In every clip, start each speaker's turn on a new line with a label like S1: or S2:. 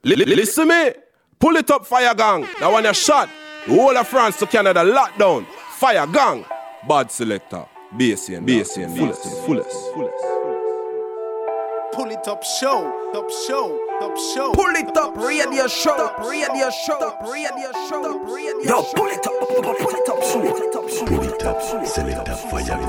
S1: Listen me. Pull it up, Fire Gang. That one you shot. The whole of France to Canada lockdown. Fire Gang. Bad selector. BSN. Fullest.
S2: Pull it up, show.
S3: Pull it up, radio show. Yo, pull it up,
S4: selector, Fire.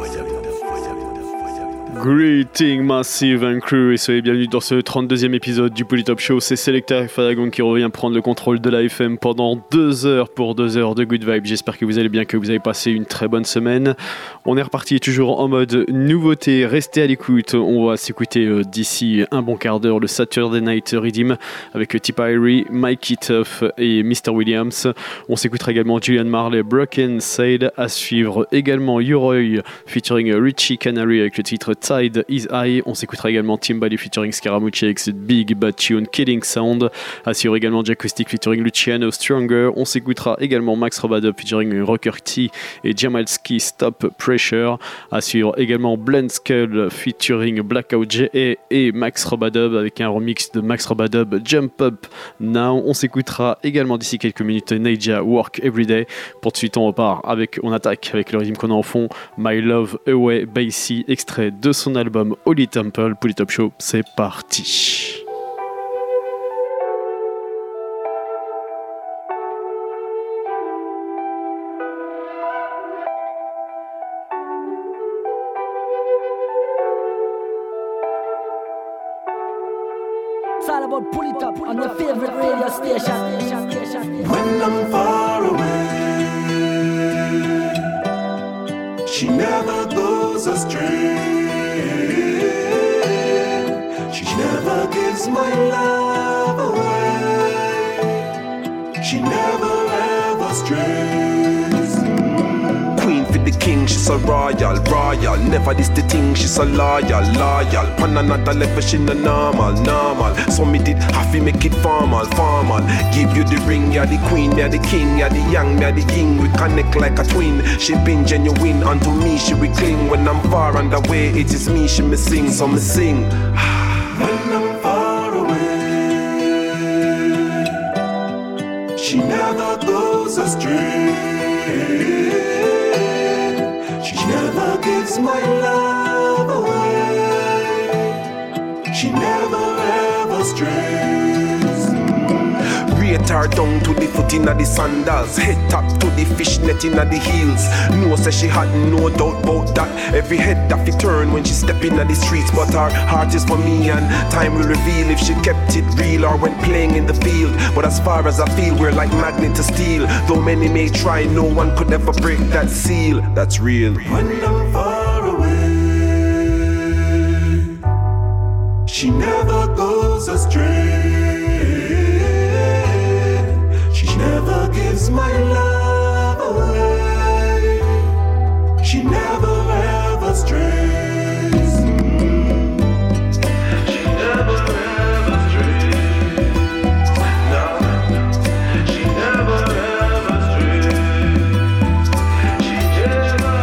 S5: Greeting Massive and Crew et soyez bienvenus dans ce 32e épisode du Polytop Show. C'est Selecta Fadagon qui revient prendre le contrôle de la FM pendant 2 heures pour 2 heures de good vibe. J'espère que vous allez bien, que vous avez passé une très bonne semaine. On est reparti toujours en mode nouveauté. Restez à l'écoute. On va s'écouter d'ici un bon quart d'heure le Saturday Night Redeem avec Tipari, Mikey Tuff et Mr. Williams. On s'écoutera également Julian Marley, Broken Side. À suivre également Uroy featuring Richie Canary avec le titre Tide Is High. On s'écoutera également Timbali featuring Scaramucci avec cette Big Bad Tune Killing Sound. Assure également Jacoustic featuring Luciano Stronger. On s'écoutera également Max Robadub featuring Rocker T et Jamalski Stop Pressure. Assure également Blend Skull featuring Blackout J.A. et Max Robadub avec un remix de Max Robadub Jump Up Now. On s'écoutera également d'ici quelques minutes Naija Work Everyday. Pour de suite on attaque avec le rythme qu'on a en fond, My Love Away Bassy, extrait de son album Holy Temple. Polytop Show, c'est parti.
S6: It's all about Polytop on your favorite radio station.
S7: When I'm far away, she never goes astray. She never gives my love away. She never ever strays.
S1: Queen for the king, she's so royal. Never this the thing, she's so loyal. Pan another level, she no normal. So me did have to make it formal. Give you the ring, you're the queen, you're the king, you're the young, you're the yin. We connect like a twin. She been genuine, unto me she will cling. When I'm far and away, it is me she me sing, so me sing.
S7: When I'm far away, she never goes astray. She never gives my love away. She never ever strays.
S1: Rate her down to the foot inna the sandals, head top to the fishnet inna the heels. No say she had no doubt about that. Every head that fi turn when she step inna the streets. But her heart is for me and time will reveal if she kept it real or when playing in the field. But as far as I feel, we're like magnet to steel. Though many may try, no one could ever break that seal. That's real.
S7: When I'm far away, she never goes astray. She never gives my love away. She never ever strays. She never ever strays. No, she never ever strays. She never.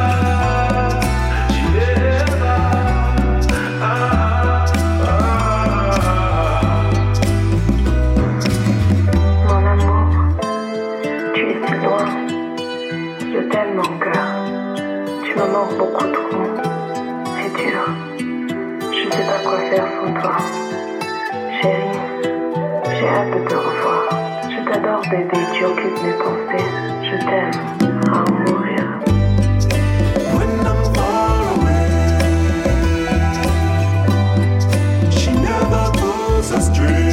S8: Mon amour, tu es si loin. Je t'aime mon cœur. Tu me manques beaucoup trop. C'est dur. Je sais pas quoi faire sans toi. Chérie, j'ai hâte de te revoir. Je t'adore bébé, tu occupes mes pensées. Je t'aime à en mourir.
S7: When I'm far away, she never goes astray.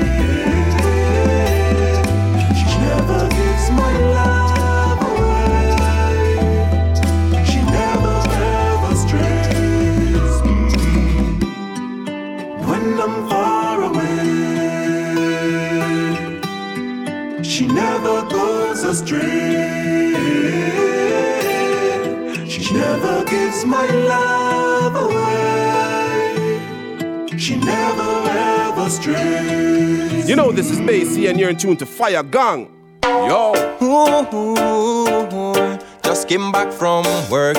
S7: She never gives my love away. She never ever strays. When I'm far away, she never goes astray. She never gives my love away. She never ever strays.
S1: You know this is Bassy and you're in tune to Fire Gang. Yo.
S3: Just came back from work.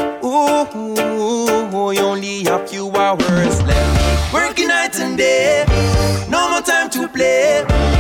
S3: Only a few hours left. Working night and day, no more time to play.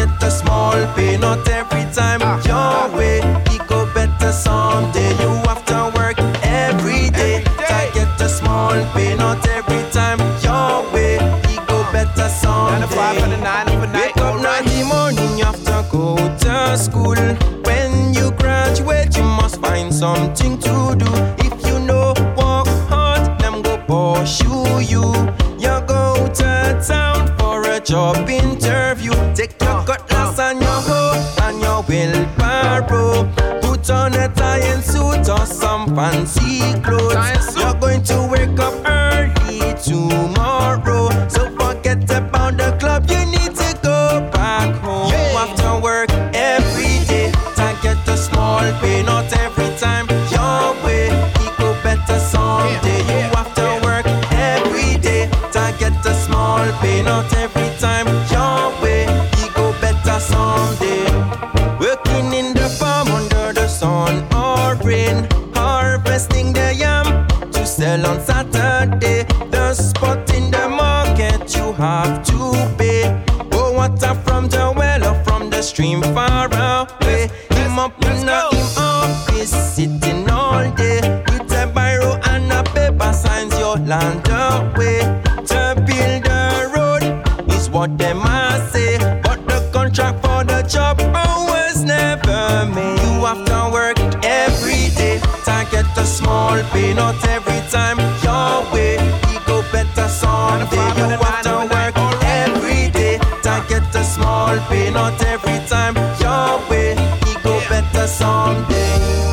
S2: get a small pay, not every time your way. It go better someday. You have to work every day to get a small pay, not every time your way. It go better someday.
S3: 9 to 5 for the 9 of the night.
S2: Wake up 9 in the morning, you have to go to school. When you graduate, you must find something to do. If you know work hard, them go pursue you. You go to town for a job interview. Take your cutlass and your hoe and your wheelbarrow. Put on a tie and suit or some fancy clothes. You're going to wake up early tomorrow. So forget about the club, you need to go back home. You have to work every day to get a small pay, not every time your way. It go better someday. You have to work every day to get a small pay, not every time your way. It go better someday. Working in the farm under the sun or rain, harvesting the yam to sell on Saturday. The spot in the market you have to pay. Oh, water from the well or from the stream far away. Him up in the office sitting all day with a biro and a paper signs your land away. To build a road is what them must say, but the contract for the job was never made. You have to work every day to get a small pay, not every time your way. You go better someday. You have to work every day to get a small pay, not every time your way. You go better someday.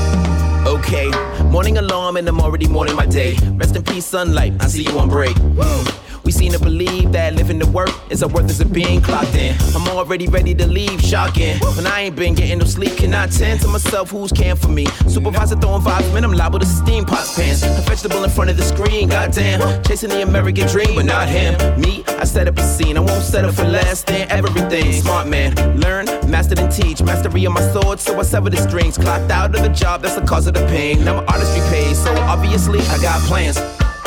S4: Okay, morning alarm and I'm already morning my day. Rest in peace, sunlight, I see you on break. We seem to believe that living to work is a worth as a being clocked in. I'm already ready to leave, shocking. When I ain't been getting no sleep, can I tend to myself who's caring for me? Supervisor throwing vibes, man, I'm liable to steam pots pants. A vegetable in front of the screen, goddamn. Chasing the American dream, but not him. Me, I set up a scene, I won't settle for less than everything. Smart man, learn, master and teach. Mastery of my sword, so I sever the strings. Clocked out of the job, that's the cause of the pain. Now my artistry pays, so obviously I got plans.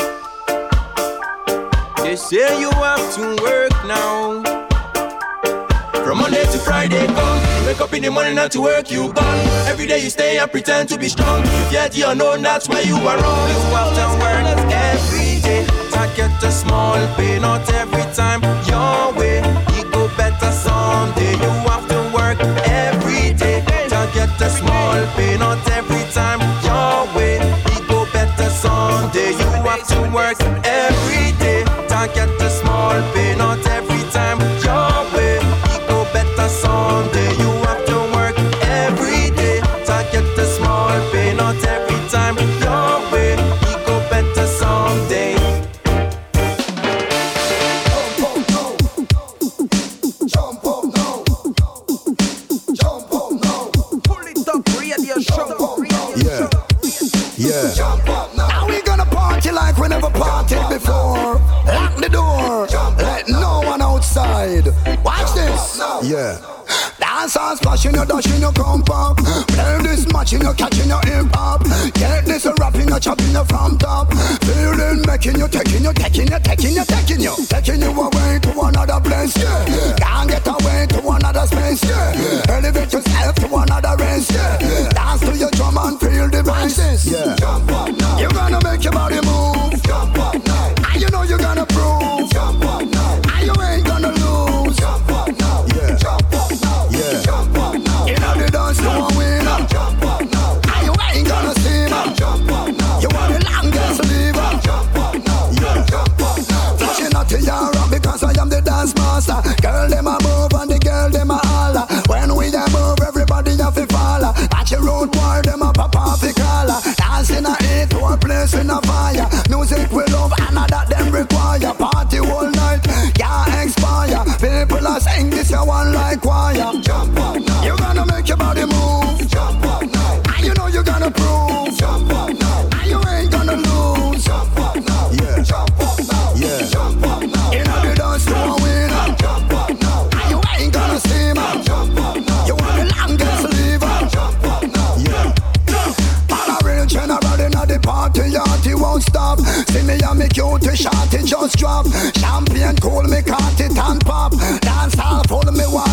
S2: They say you have to work now. From Monday to Friday come. You wake up in the morning not to work, you gone. Every day you stay and pretend to be strong. If yet you know that's where you are wrong. You have to work every day to get a small pay, not every time your way. You go better someday. You have to work every day to get a small pay, not every time your way. You go better someday. You have to work every day to get a small pay, not every time your way. You go better someday. You have to work every day to get a small pay, not every time your way. You go better someday.
S3: Jump up now. Jump up now. Pull it up, radio show.
S9: Yeah. Yeah. Jump up now. Now we gonna party like we never partied before. Lock the door. Let no one outside. Watch this. Yeah. Dance and splash in your dash in your crump up. Play this match in your catching your hip hop. Get this rapping your chopping your from top. Feeling making you taking you taking you taking you taking you taking you away to another place. Yeah. Can't get away to another space. Yeah. Elevate yourself to another race. Yeah. Dance to your drum and feel the bass. Yeah. Jump up now. You're gonna make your body move. Jump up now. And you know you're gonna prove. Jump up now. And you ain't gonna lose. Jump up now. Yeah. Jump up now. Yeah. Jump up now. You know the dance to a winner. Jump up now. And you ain't gonna see me. Jump up now. You want the longest lever. Jump up now. Yeah. Jump up now. Flashing out to Europe because I am the dance master. Girl them a move and the girl them a holler. When we a move, everybody have to follow. Watch your road boy, them a pop off the collar. Dancing a hit to a place in a fire. Music we love and that them require. Party all night, can't expire. People are saying this you one like choir. Jump up now. You're gonna make your body move. Jump up now. And you know you're gonna prove. Jump up now. And you ain't gonna lose. Jump up now. Yeah. Jump up now. Yeah. Jump up now. You know the dance to a winner. Jump up now. And you ain't gonna see me. Jump up now. You want the longest lever. Jump up now. Yeah. Man a real general in the party, yachty won't stop. See me and me cutie shawty just drop. Champagne cool, me caught it and pop. Dance all full, me want a roll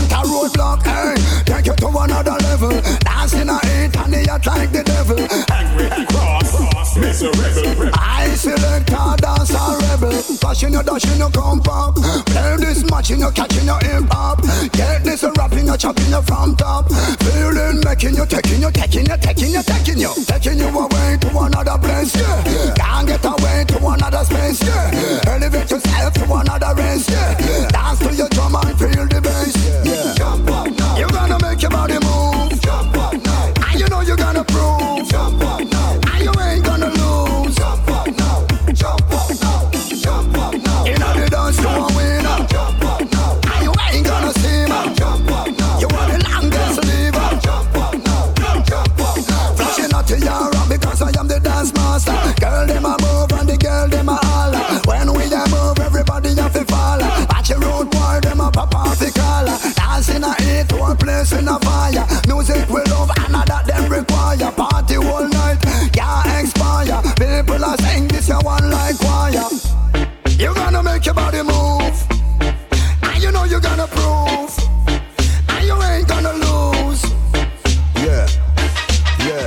S9: roadblock, hey. Take you to another level. Dancing a heat and the yacht like the devil.
S10: Angry, cross, miserable.
S9: I select a dance a rebel. Flashing your dash in your compact. Play this match in your catching your hip hop. Get this a rapping your chopping your from top. Feeling making you taking you away to another place, yeah. Can't get away to another space, yeah. Elevate yourself to another race, yeah. Dance to your drum and feel the bass, yeah. Jump up now. You're gonna make your body move. Jump up now. And you know you're gonna prove. Jump up now. And you ain't gonna lose. Jump up now. Jump up now. Jump up now. You know the dance you want winner. Jump up now. And you ain't gonna see me. Jump up now. You want the longest lever. Jump up now. Jump up now. Flashing out to your rock because I am the dance master. Girl them a move and the girl them a holler. When we a move everybody have to follow. Watch your road boy them a pop off the collar. Dancing a heat to a place in a fire. Music we love and that them require. Party all night, can't expire. People are saying this you one like choir. You gonna make your body move. And you know you gonna prove. And you ain't gonna lose. Yeah, yeah.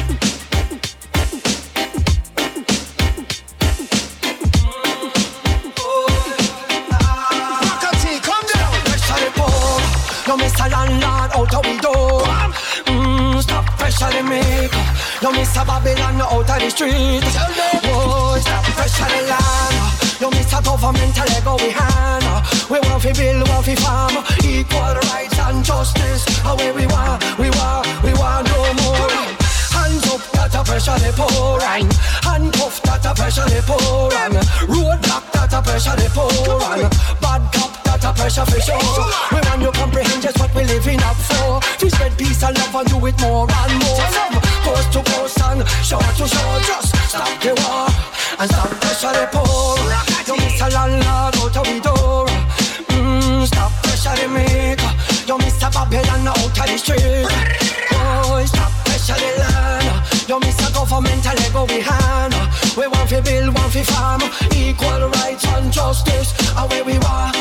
S11: Yo, Mr. Landlord, out of the door. Stop pressuring me. Yo, Mr. Babylon, out of the street. Oh, stop pressuring land. Yo, Mr. Governmental, let go behind. We want to build, want to farm. Equal rights and justice. Away we want no more. Hands up, that a pressure they pour on. Handcuff, that a pressure they pour on. Roadblock, that a pressure they pour on. Bad cop, that a pressure for sure. We want you comprehend just what we living up for. To spread peace and love and do it more and more. From coast to coast and shore to shore. Just stop the war and stop pressure they pour. You Mr. Landlord out of the door. Stop pressure they make. You Mr. Babylon out of the street. Oh, stop pressure they land. You Mr. Governmental let go behind. We want to build, want to farm. Equal rights and justice. Away we want.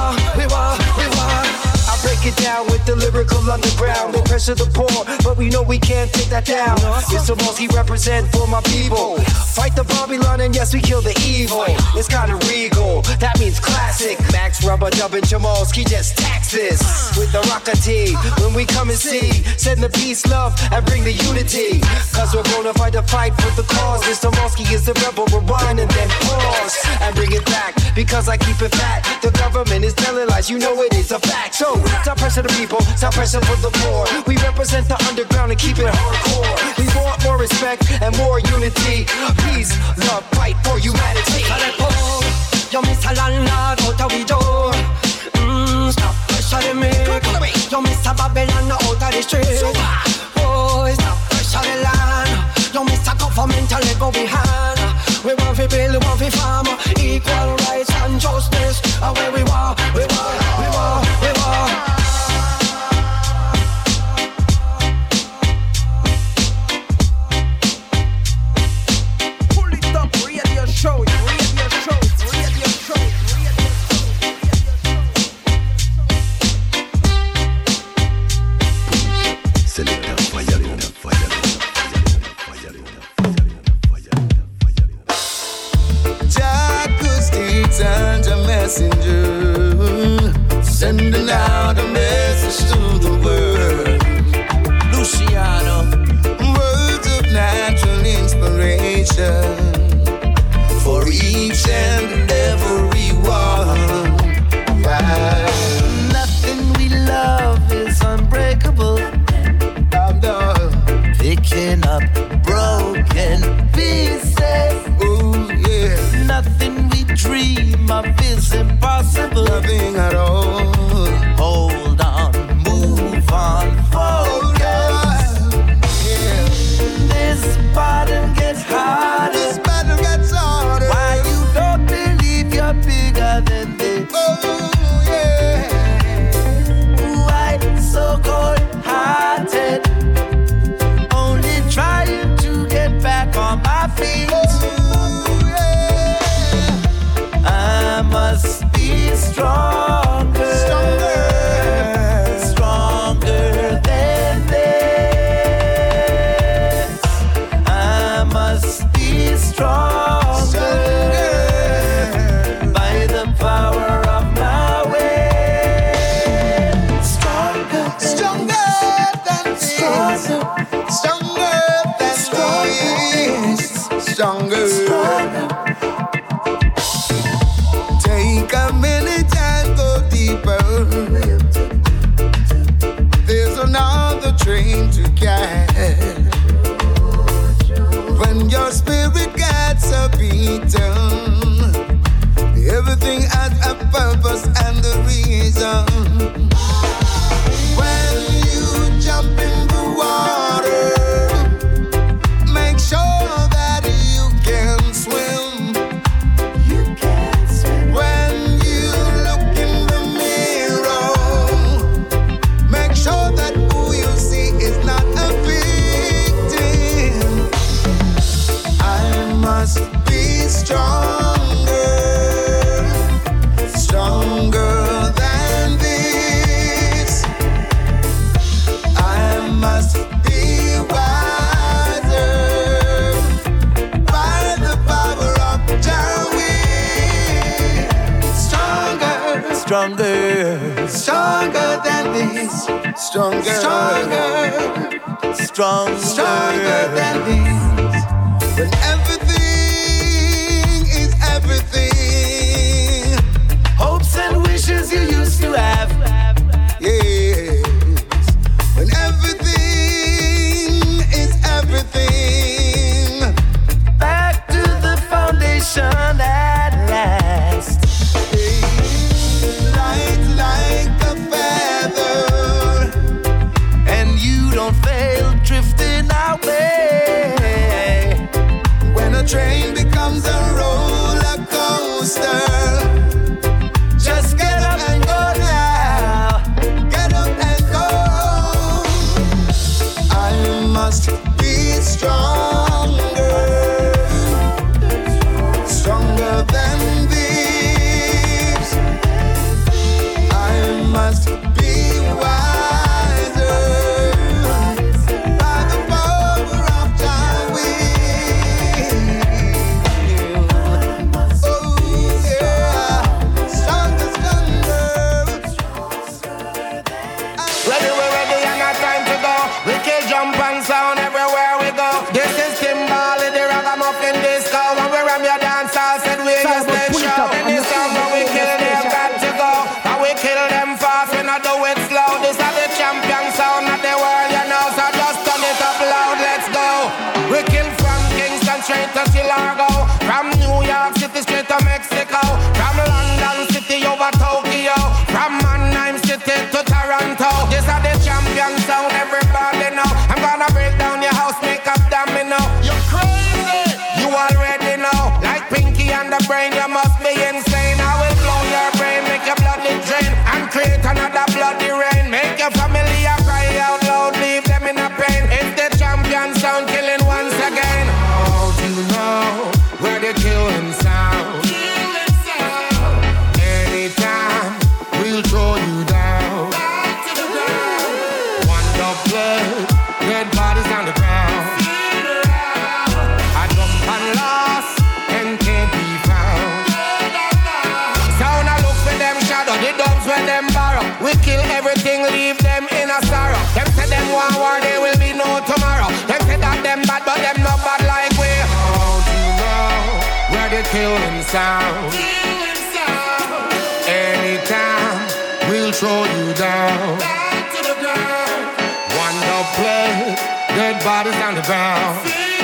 S12: I break it down with the lyrical underground. They pressure the poor, but we know we can't take that down. It's the most he represent for my people. Fight the Babylon and yes, we kill the evil. It's kinda regal, that means classic. Max Rubber Dub and Jamalski just tax this with the Rocker T. When we come and see, send the peace, love, and bring the unity. Cause we're gonna fight the fight for the cause. Mr. Malski is the rebel, rewind and then pause and bring it back. Because I keep it fat. The government is telling lies, you know it is a fact. So stop pressure the people, stop pressure for the poor. We represent the underground and keep it hardcore. We want more respect and more unity. Peace, love, fight for humanity.
S11: Yo, Mr. Landlord, out of the door. Stop pressure me. Yo, Mr. Babylon, out of the street. Oh, stop pressure the land. Yo, Mr. Governmental, let go behind. We want to build, want to farm. Equal rights and justice. Away we want.
S2: Pull it up, radio show.
S13: Send a messenger, sending out a message to the world. Luciano, words of natural inspiration for each and every one. Nothing we love is unbreakable. I'm done picking up broken pieces. Oh yeah, nothing we dream of is impossible. Nothing at all. Hold on, move on, focus. Yeah. This battle gets harder. This battle gets harder. Why you don't believe you're bigger than this? Oh yeah. Why so cold-hearted? Only trying to get back on my feet. I must be stronger, stronger, stronger. stronger, stronger than this, stronger, stronger, stronger than this. When everything is everything, hopes and wishes you used to have, yes. When everything is everything, back to the foundation at last. Light like a feather, and you don't fail drifting away. When a train becomes a roller coaster, just get up and go now. Get up and go. I must be stronger, stronger than these. I must be wiser by the power of thy will. Oh yeah, stronger, stronger.
S12: Ready, we're ready, and not time to go. We kill, jump and sound everywhere we go. This is Timbali, the ragamuffin disco. When we ram your dance hall, said we just let show. Any song when we kill, they've got to go. And we kill them fast, we not do it slow. This is the champion sound of the world, you know. So just turn it up loud, let's go. We kill from Kingston straight to Chicago, from New York City straight to Mexico, from London City over Tokyo, from Mannheim City to Toronto. This is the champion sound, everybody know. I'm gonna break down your house, make up domino. You're crazy, you already know. Like Pinky and the Brain, you must be insane. I will blow your brain, make your blood drain, and create another bloody rain. Make your family cry out loud, leave them in a pain. It's the champion sound killing once again. Oh, do you know where the killing sound? Anytime we'll throw you down. One dog blood, dead bodies on the ground. I jump and lost and can't be found. Sound I look for them shadow, the dogs when them borrow. We kill everything, leave them in a sorrow. Them say them want war, there will be no tomorrow. Them say that them bad, but them not bad like we. Oh, do you know where the killing sound? Anytime we'll throw you down. One dog play, dead bodies on the ground.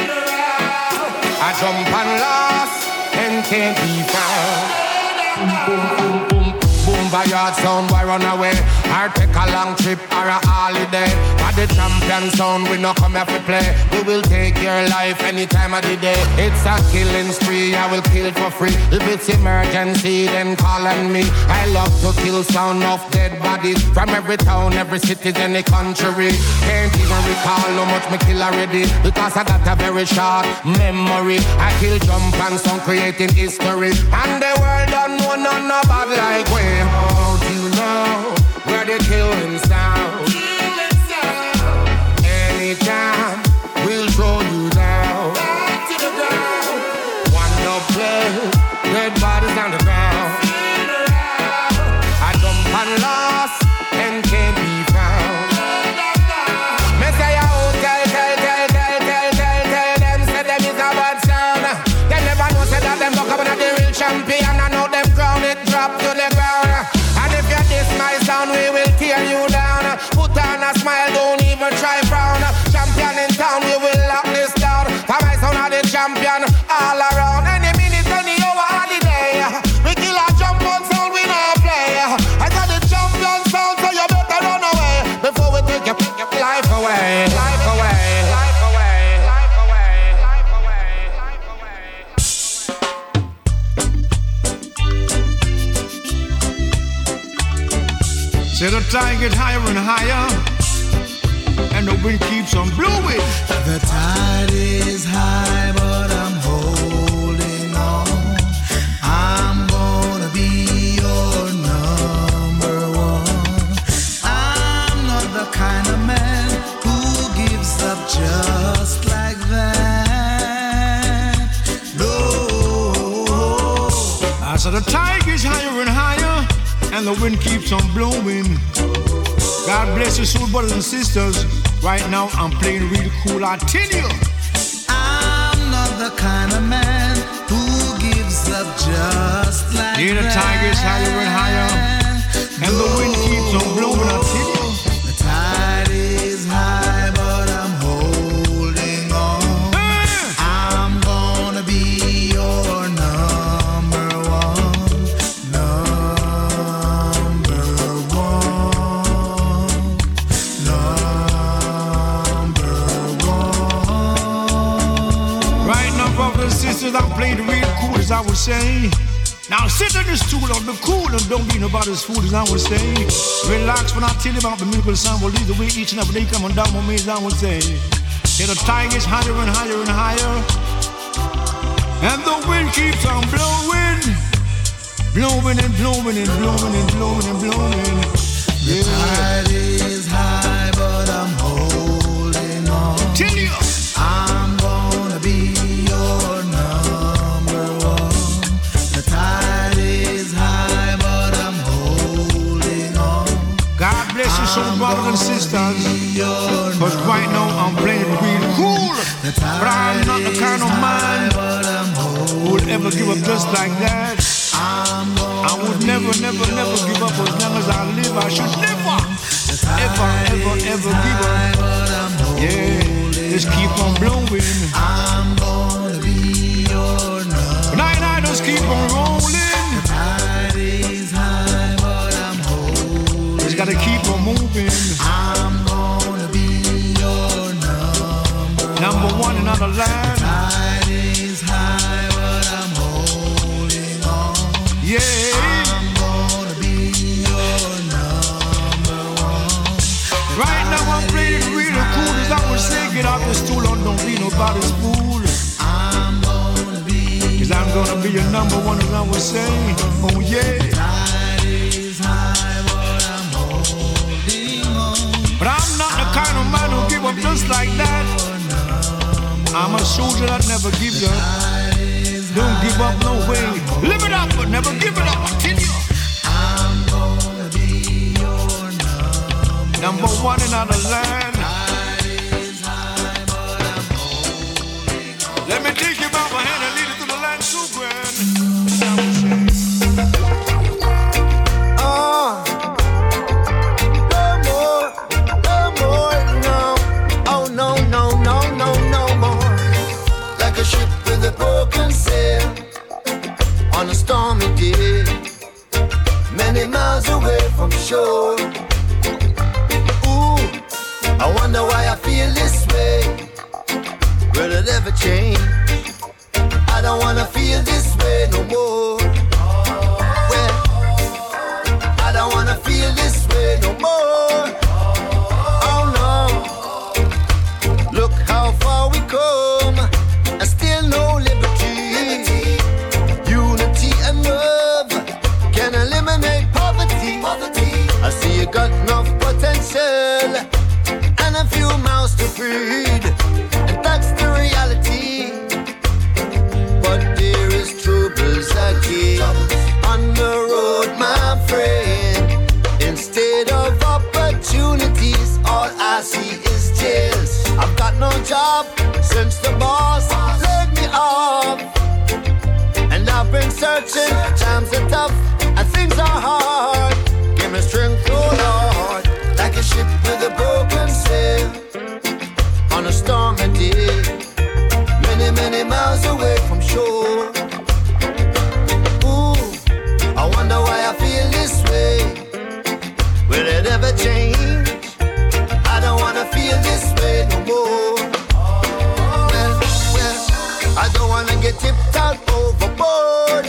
S12: I jump and lost and can't be found. Boom, boom, boom, boom, by yard sound, why run away? Or take a long trip or a holiday. For the champion sound, we no come here to play. We will take your life any time of the day. It's a killing spree, I will kill for free. If it's emergency, then call on me. I love to kill sound of dead bodies from every town, every city, any country. Can't even recall how much me kill already, because I got a very short memory. I kill jump and sound, creating history, and the world don't know none about like we. Oh, do you know where the killing sound? Anytime we'll throw you down. One no play, dead bodies on the ground. I jump and lost and can't be found. Me say oh, tell them, say them is a bad sound. They never know say that them buck up on the real champion. I know them crown it drop to the ground. And if you diss my sound, we will tear you down. Put on a smile, don't even try frown. Champion in town, we will lock this down. For my sound are the champion all around. Any minute, any hour, any day. We kill a jump on sound, we no play. I got the champion sound, so you better run away before we take your life away. Life away. Life away. Life away. Life away. Life away.
S14: Say the tide gets higher and higher, and the wind keeps on blowing.
S13: The tide is high, but I'm holding on. I'm gonna be your number one. I'm not the kind of man who gives up just like that. No.
S14: I said the tide gets higher and higher, and the wind keeps on blowing. God bless your soul, brothers and sisters. Right now I'm playing real cool, I tell you.
S15: I'm not the kind of man who gives up just like
S14: that. The tiger's higher and higher, and the wind keeps on blowing, I tell you.
S15: The tide is high, but I'm holding on. I'm gonna be your number one.
S14: Right now, brothers and sisters, I'm playing the real cool, as I would say. Now sit on the stool on the cool and don't be nobody's fool, as I would say. Relax when I tell you about the miracle sound. Will lead the way each and every day coming down on me, as I would say. Yeah, the tide gets higher and higher and higher, and the wind keeps on blowing, blowing and blowing and blowing and blowing and blowing.
S15: Yeah. The tide is high, but I'm holding on.
S14: Tell you,
S15: I'm gonna be your number one. The tide is high, but I'm holding on.
S14: God bless you, soul brothers and sisters. But right now I'm playing real cool. But I'm not the kind of man who would ever give up just like that. I would never, never, never give up as long as I live. I should never, ever, ever, ever give up. Yeah, just keep on blowing.
S15: I'm gonna be your number.
S14: And I just keep on rolling.
S15: The tide is high, but I'm holding.
S14: Just gotta keep on moving.
S15: I'm gonna be your
S14: number one in other land.
S15: The tide is high, but I'm holding on.
S14: Yeah.
S15: I'm gonna be your number one.
S14: Right now I'm playing really cool, as I would say. Get out the stool and don't be nobody's fool.
S15: I'm gonna be,
S14: cause I'm gonna be your number one, as I would say. Oh yeah.
S15: The tide is high, but I'm holding on.
S14: But I'm not the kind of man who give up just like that. I'm a soldier that never gives up. Don't give up no way. Live it up, but never give it up. I tell you.
S15: I'm gonna be your
S14: number one in our land. Let me take you by my hand and lead you to the land so grand.
S16: On a stormy day, many miles away from shore. Ooh, I wonder why I feel this way. Will it ever change? I don't wanna feel this way no more. Well, I don't wanna feel this way no more. Oh no, look how far we come, and still no liberty. I see you got enough potential and a few mouths to feed, and that's the reality. But there is troubles again on the road, my friend. Instead of opportunities, all I see is jails. I've got no job since the boss laid me off, and I've been searching. Times are tough and things are hard. Give me strength, oh Lord, like a ship with a broken sail on a stormy day, many, many miles away from shore. Ooh, I wonder why I feel this way. Will it ever change? I don't wanna feel this way no more. Well, I don't wanna get tipped out overboard.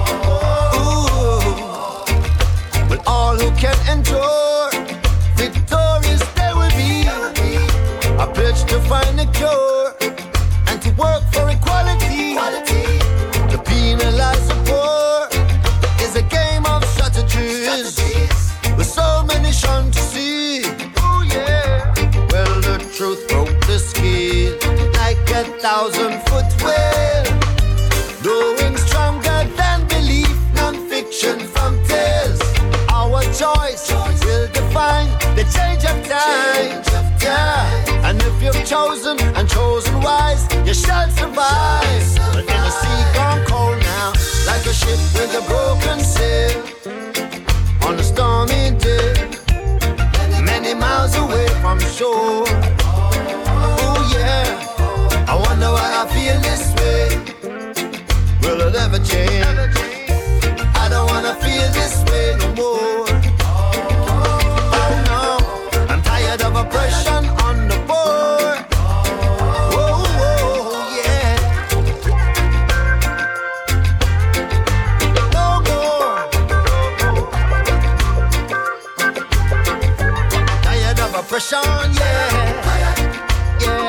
S16: All who can endure, victorious they will be. I pledge to find a cure and to work for equality. To penalize the poor is a game of strategies, with so many shunned to see. Oh yeah. Well, the truth broke the scale like 1,000-foot whale, growing stronger than belief. Non-fiction from tales. chosen and chosen wise, you shall survive. But in the sea gone cold now, like a ship with a broken sail, on a stormy day, many miles away from shore. Oh yeah, I wonder why I feel this way. Will it ever change? I don't wanna feel this way no more. Oh no, I'm tired of oppression on the poor. Oh yeah, no more. Tired of oppression, yeah, yeah.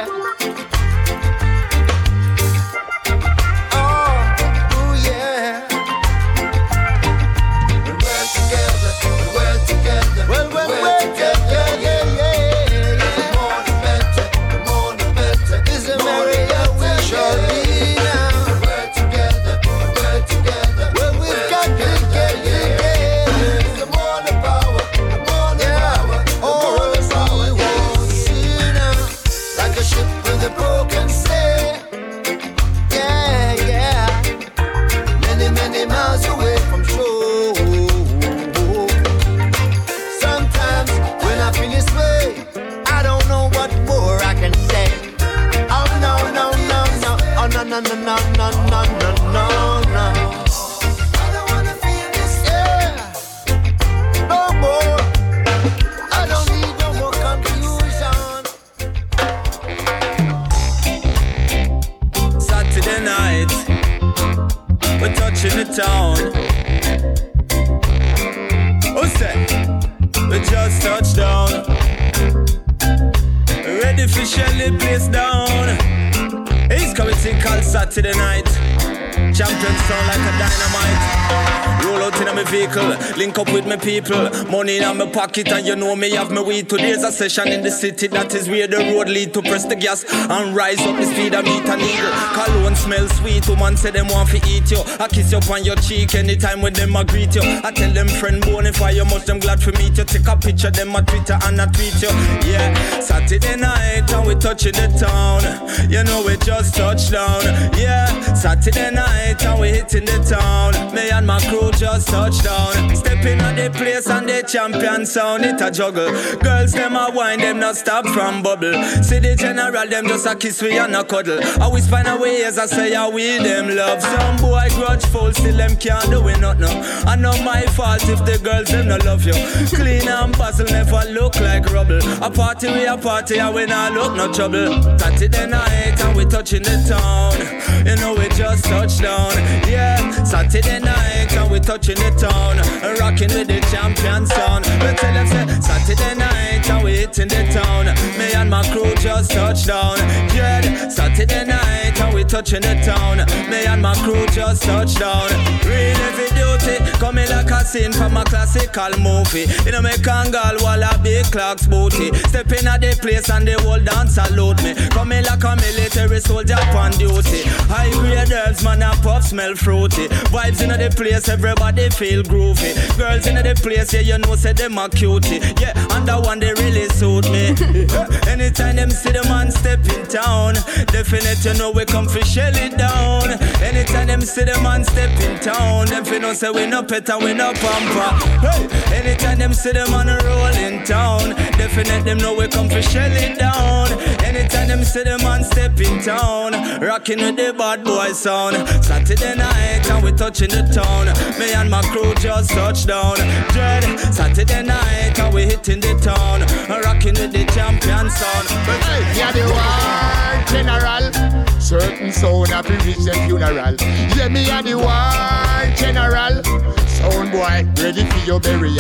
S16: No, no, no, no, no, no, no, no. I don't wanna feel this, yeah. No more. I don't need no more confusion.
S2: Saturday night, we're touching the town. Who's that? We just touched down. Ready for Shelly, place down. It's coming to called Saturday night. Champion sound like a dynamite. Roll out in my vehicle, link up with my people. Money in my pocket and you know me have my weed. Today's a session in the city, that is where the road lead to. Press the gas and rise up the speed and meet a needle. Cologne smell sweet, woman say them want to eat you. I kiss you on your cheek anytime when them I greet you. I tell them friend bonify you, much them glad to meet you. Take a picture them on Twitter and I tweet you. Yeah, Saturday night and we touching the town. You know we just touched down. Yeah, Saturday night and we hitting the town. Me and my crew just touched down. Stepping on the place and the champion sound. It a juggle. Girls them a wine, them not stop from bubble. See the general, them just a kiss we and a cuddle. I always find a way as I say I we them love. Some boy grudgeful, still them can't do it not now. I know my fault if the girls them not love you. Clean and bustle never look like rubble. A party we a party and we not look no trouble. Saturday night and we touching the town. You know we just touched down. Yeah, Saturday night and we touching the town. Rocking with the champion sound. We tell them say Saturday night and we hitting the town. Me and my crew just touched down. Yeah, Saturday night and we touching the town. Me and my crew just touched down. Real heavy duty, coming like a scene from a classical movie. You know me kangal while a big clocks booty. Stepping at the place and the whole dance salute me. Coming like a military soldier on duty. High grade herbs, man, and puff smell fruity. Vibes in the place, everybody feel groovy. Girls in the place, yeah, you know, say them a cutie. Yeah, and that one they really suit me. Anytime them see the man step in town, definitely you know we come for shell it down. Anytime them see the man step in town, them fi know say we no pet and we no pamper. Hey, anytime them see the man roll in town, definitely them know we come for shell it down. Anytime them see the man step in town, rocking with the bad boy sound. Saturday night and we touching the town. Me and my crew just touched down. Dread, Saturday night and we hitting the town, rocking with the champion sound.
S17: Hey, yeah, the war general. Certain sound have to reach the funeral. Yeah, me and the war general. Sound boy, ready for your burial.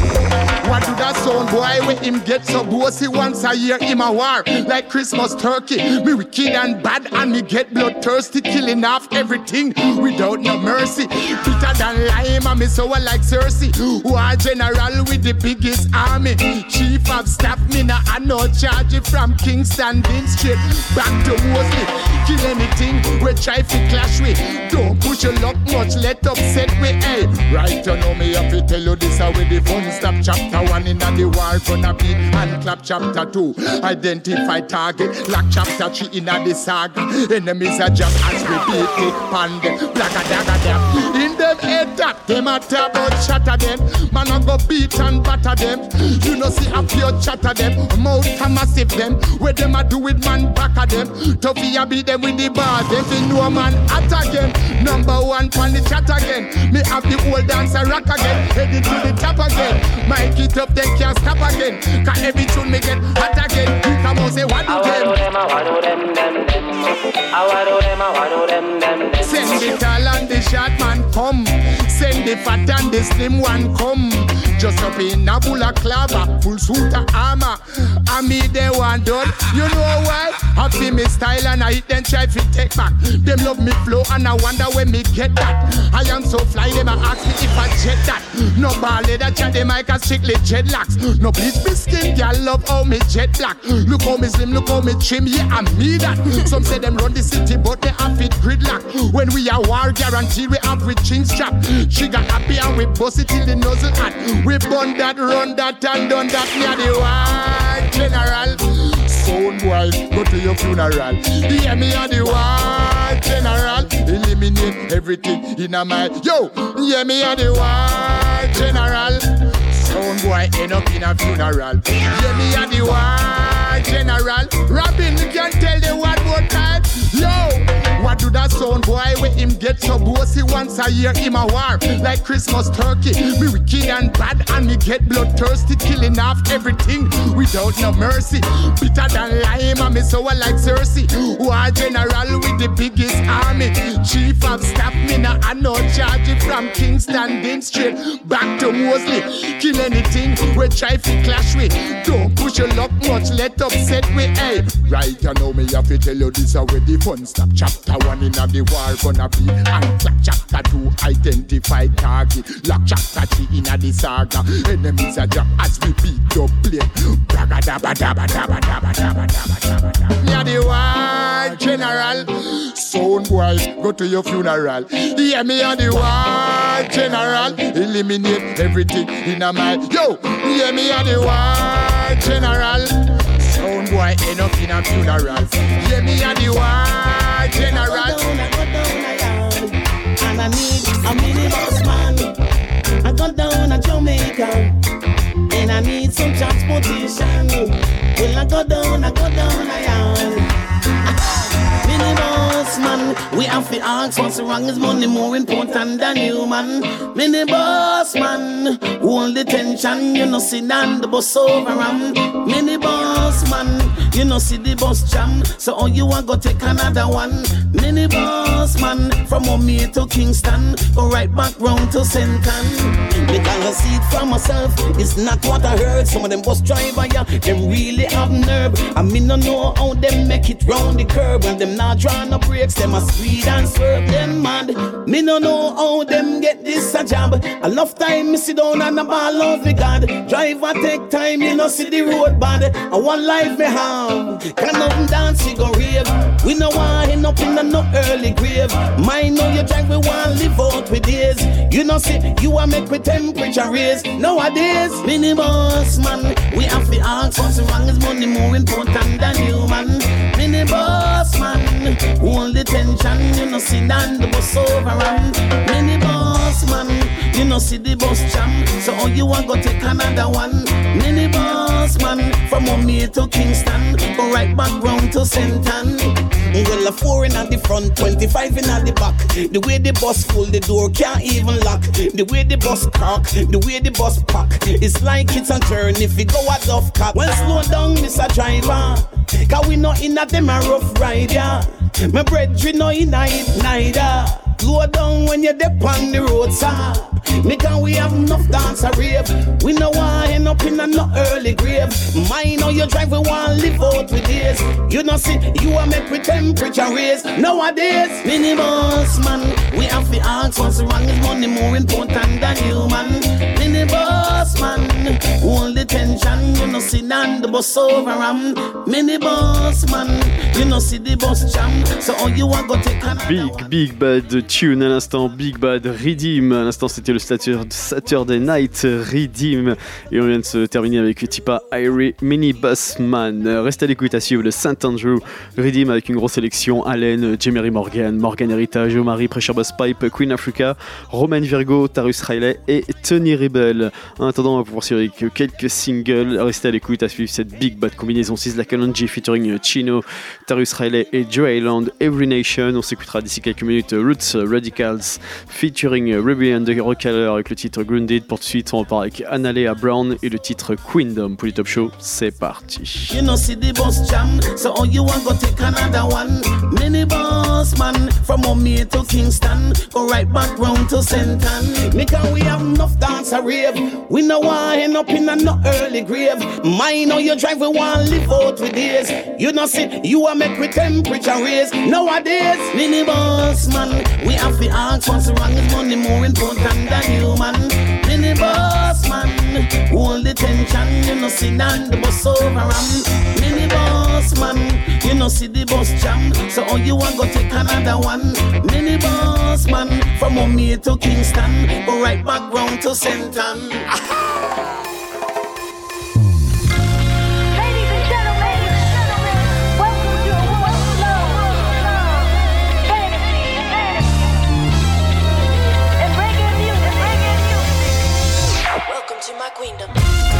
S17: What do that sound boy when him get so bossy once a year him a war? Like Christmas turkey, me wicked and bad and me get bloodthirsty, killing off everything without no mercy. Bitter than lime and me sour like Cersei. War general with the biggest army. Chief of staff, me nah a no charge it from Kingston, Dean straight back to Mosley. Kill anything we try to clash with. Don't push your luck much, let upset we, hey. Right, you know me have to tell you this with the fun stop. Chapter 1 in the war gonna be and clap. Chapter 2 identify target. Lock chapter 3 in the saga. Enemies are just as we beat it. Pan them, black a dagger them. In them head that them a talk about shatter them. Man a go beat and batter them. You know see a pure chatter them. Mouth a massive them. Where them a do with man back at them. Toughy a beat them with the bar. Them fi know man at again. Number 1 pan the chat again. Me have the old dancer rock again. Headed to the top again. Mic it up then can't stop again. Cause every tune me get hot again. You come on say what do them. Send the tall and the short man come. Send the fat and the slim one come. Just up in a bull of clava, full suit of armor. And me they want done. You know why? I feel me style and I hit them try to take back. Them love me flow and I wonder when me get that. I am so fly, them a ask me if I jet that. No ballet that chat them like a strictly jet locks. No bleach me skin, girl love how me jet black. Look how me slim, look how me trim, yeah I me that. Some say them run the city but they have it gridlock. When we are war guarantee we have with chin strap. She got happy and we bust it till the nozzle hot. We burn that, run that and done that. Me are the white general. Sound boy, go to your funeral. Yeah, me are the white general. Eliminate everything in a mind. Yo, yeah, me are the white general. Sound boy, end up in a funeral. Yeah, me are the white general. Robin, you can tell the one more time. Yo, what do that sound boy when him get so bossy once a year in a war? Like Christmas turkey. Me wicked and bad and me get bloodthirsty. Killing off everything without no mercy. Bitter than lime and me sour like Cersei. War general with the biggest army. Chief of staff me now I no charge it from Kingston Dean straight back to Mosley. Kill anything we try to clash with. Don't push your luck much, let upset we. Hey, right you know me have to tell you this already. Fun stop. Chapter 1 in the war gonna be and clap. Chapter 2 identify target. Lock chapter 3 in the saga. Enemies are drop as we beat the plane. Braga dabba dabba dabba dabba dabba dabba dabba. Me are the white general. Sound boy, go to your funeral. Yeah, me are the white general. Eliminate everything in a mind. Yo, yeah, me are the white general. Sound boy, end up in a funeral. Yeah, me are the white general.
S18: And I need a mini boss man. I got down to Jamaica. And I need some transportation. Well, I go down, I am. Mini boss man, we have to ask what's wrong. Is money more important than you, man? Mini boss man, hold the tension. You know, sit down the bus over Mini boss man, you know, see the bus jam. So all you want go take another one. Mini boss man, from Omea to Kingston, go right back round to Senton. Because I see it for myself, it's not what I heard. Some of them bus driver, yeah, them really have nerve. I mean, no know how them make it round the curb. When them not drawing no brakes, them a speed and swerve them mad. Me no know how them get this a job. Enough time me sit down and a ball out with God. Driver take time, you know see the road bad. And one life me have, can nothing dance, we go rave. We no want end up in a no early grave. Mine know you drive, we want live out with days. You know see, you a make with temperature raise. Nowadays, mini boss man, we have to ask what's wrong. Is money more important than you, man? Mini boss man, hold the tension. You know see down the bus over Mini boss man, you know see the bus jam. So all you want go take another one. Mini boss man, from Omea to Kingston, go right back round to Senton. Well, a 4 in at the front, 25 in at the back. The way the bus full, the door can't even lock. The way the bus crack, the way the bus pack. It's like it's a turn if you go at off cut. Well, slow down, Mr. Driver, cause we not in a them a rough ride, yeah. My brethren no in a it neither. Slow down when you're dip on the road, sir. Because we have enough dance a rave. We no want end up in a no early grave. Mine how you drive, we want live out with days. You know see, you a make with temperature raise. Nowadays, mini boss man, we have to ask what's wrong. Is money more important than you, man? Mini boss man, hold the tension. You know see sit down the bus over mini boss man, you know see the bus jam. So all you want go take another
S5: Big Bad Tune à l'instant, Big Bad Redeem. À l'instant, c'était le Saturday Night Redeem. Et on vient de se terminer avec Tipa Irie Mini Bossman. Reste à l'écoute, à suivre le St. Andrew Redeem avec une grosse sélection. Allen, Jemery Morgan, Morgan Heritage, Omari, Pressure Boss Pipe, Queen Africa, Roman Virgo, Tarrus Riley et Tony Rebel. En attendant, on va poursuivre avec quelques singles. Restez à l'écoute, à suivre cette Big Bad combinaison 6 la Kalonji featuring Chino, Tarrus Riley et Joe Island, Every Nation. On s'écoutera d'ici quelques minutes Roots Radicals featuring Rebellion de Rockhaler avec le titre Grounded. Pour tout de suite, on repart avec Analea Brown et le titre Queendom. Pour les Top Show, c'est parti.
S18: You know see the bus jam, so all you want go take another one. Mini boss man, from Omea to Kingston, go right back round to St. Ann. Because we have enough dance a rave, we no want end up in a no early grave. Mind how you drive, we want live out with days. You know see, you a make with temperature raise. Nowadays, mini boss man, we have to ask what's wrong is money more important than human. Mini boss man, hold the tension, you know sit down the bus over mini boss man, you know see the bus jam, so all you want go take another one. Mini boss man, from Omea to Kingston, go right back round to St. Ann.
S19: Queendom.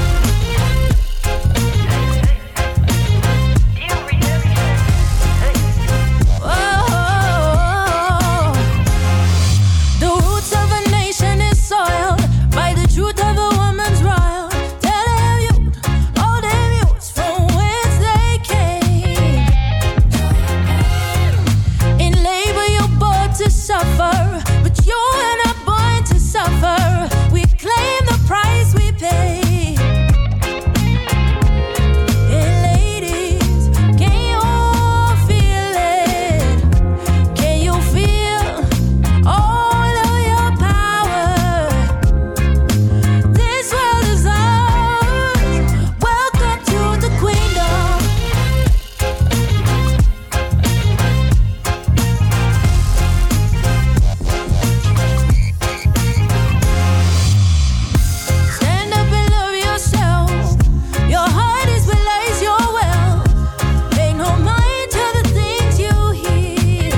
S19: The roots of a nation is soiled by the truth of a woman's royal. Tell them youth, all them youths from whence they came. In labor you're born to suffer, but you're not born to suffer. We claim the price we pay. Hey ladies, can you feel it? Can you feel all of your power? This world is ours. Welcome to the queendom. Stand up and love yourself. Your heart is what lies your well. Pay no mind to the things you hear.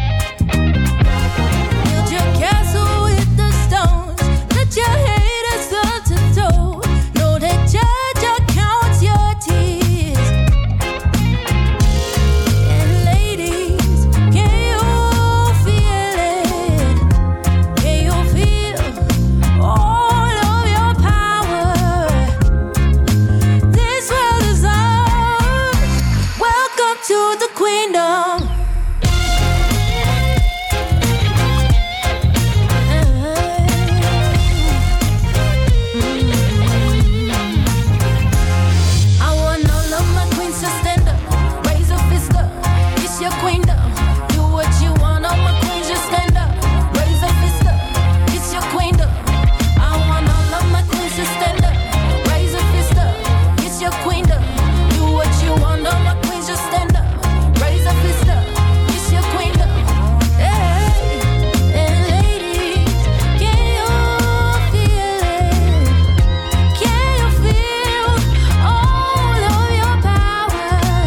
S19: Build your castle with the stones. Let your haters start to throw. Know that judge counts your tears. And ladies, can you feel it? Can you feel all of your power? This world is ours. Welcome to the queendom. I want all of my queens to stand up, raise a fist up. It's your queendom. Do what you want, all my queens just stand up, raise a fist up. It's your queendom. I want all of my queens to stand up, raise a fist up. It's your queendom. Do what you want, all my queens just stand up, raise a fist up. It's your queendom. Hey, and ladies, can you feel it? Can you feel all of your power?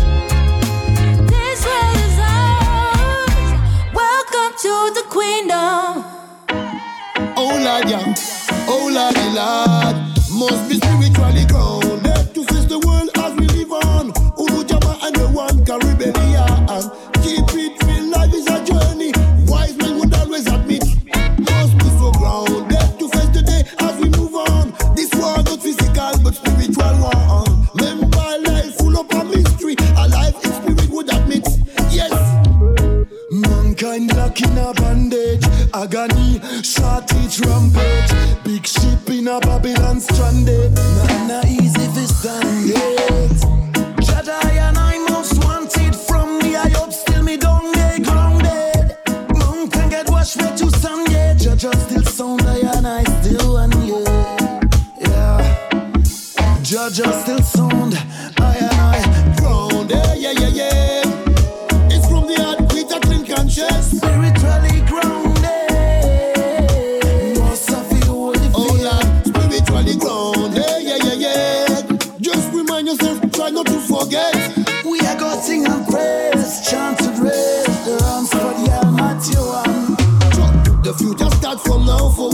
S19: This world is ours. Welcome to the queendom.
S17: Oh Lord, yeah. Oh Lordy Lord, must be spiritually grounded to face the world as we live on. Ulu Jama and the one Caribbean. Keep it real, life is a journey. Wise men would always admit. Must be so grounded to face the day as we move on. This war not physical but spiritual one. Remember life full of a mystery. A life in spirit would admit. Yes. Mankind locked in a bandage, agony, short each rampage. Big ship in a Babylon stranded. Not easy for stand it. Jedi and I most wanted from me. I hope still me don't get grounded. Mountain get washed way to sun yet. Judge still sound and I still want you. Yeah. Judge still sound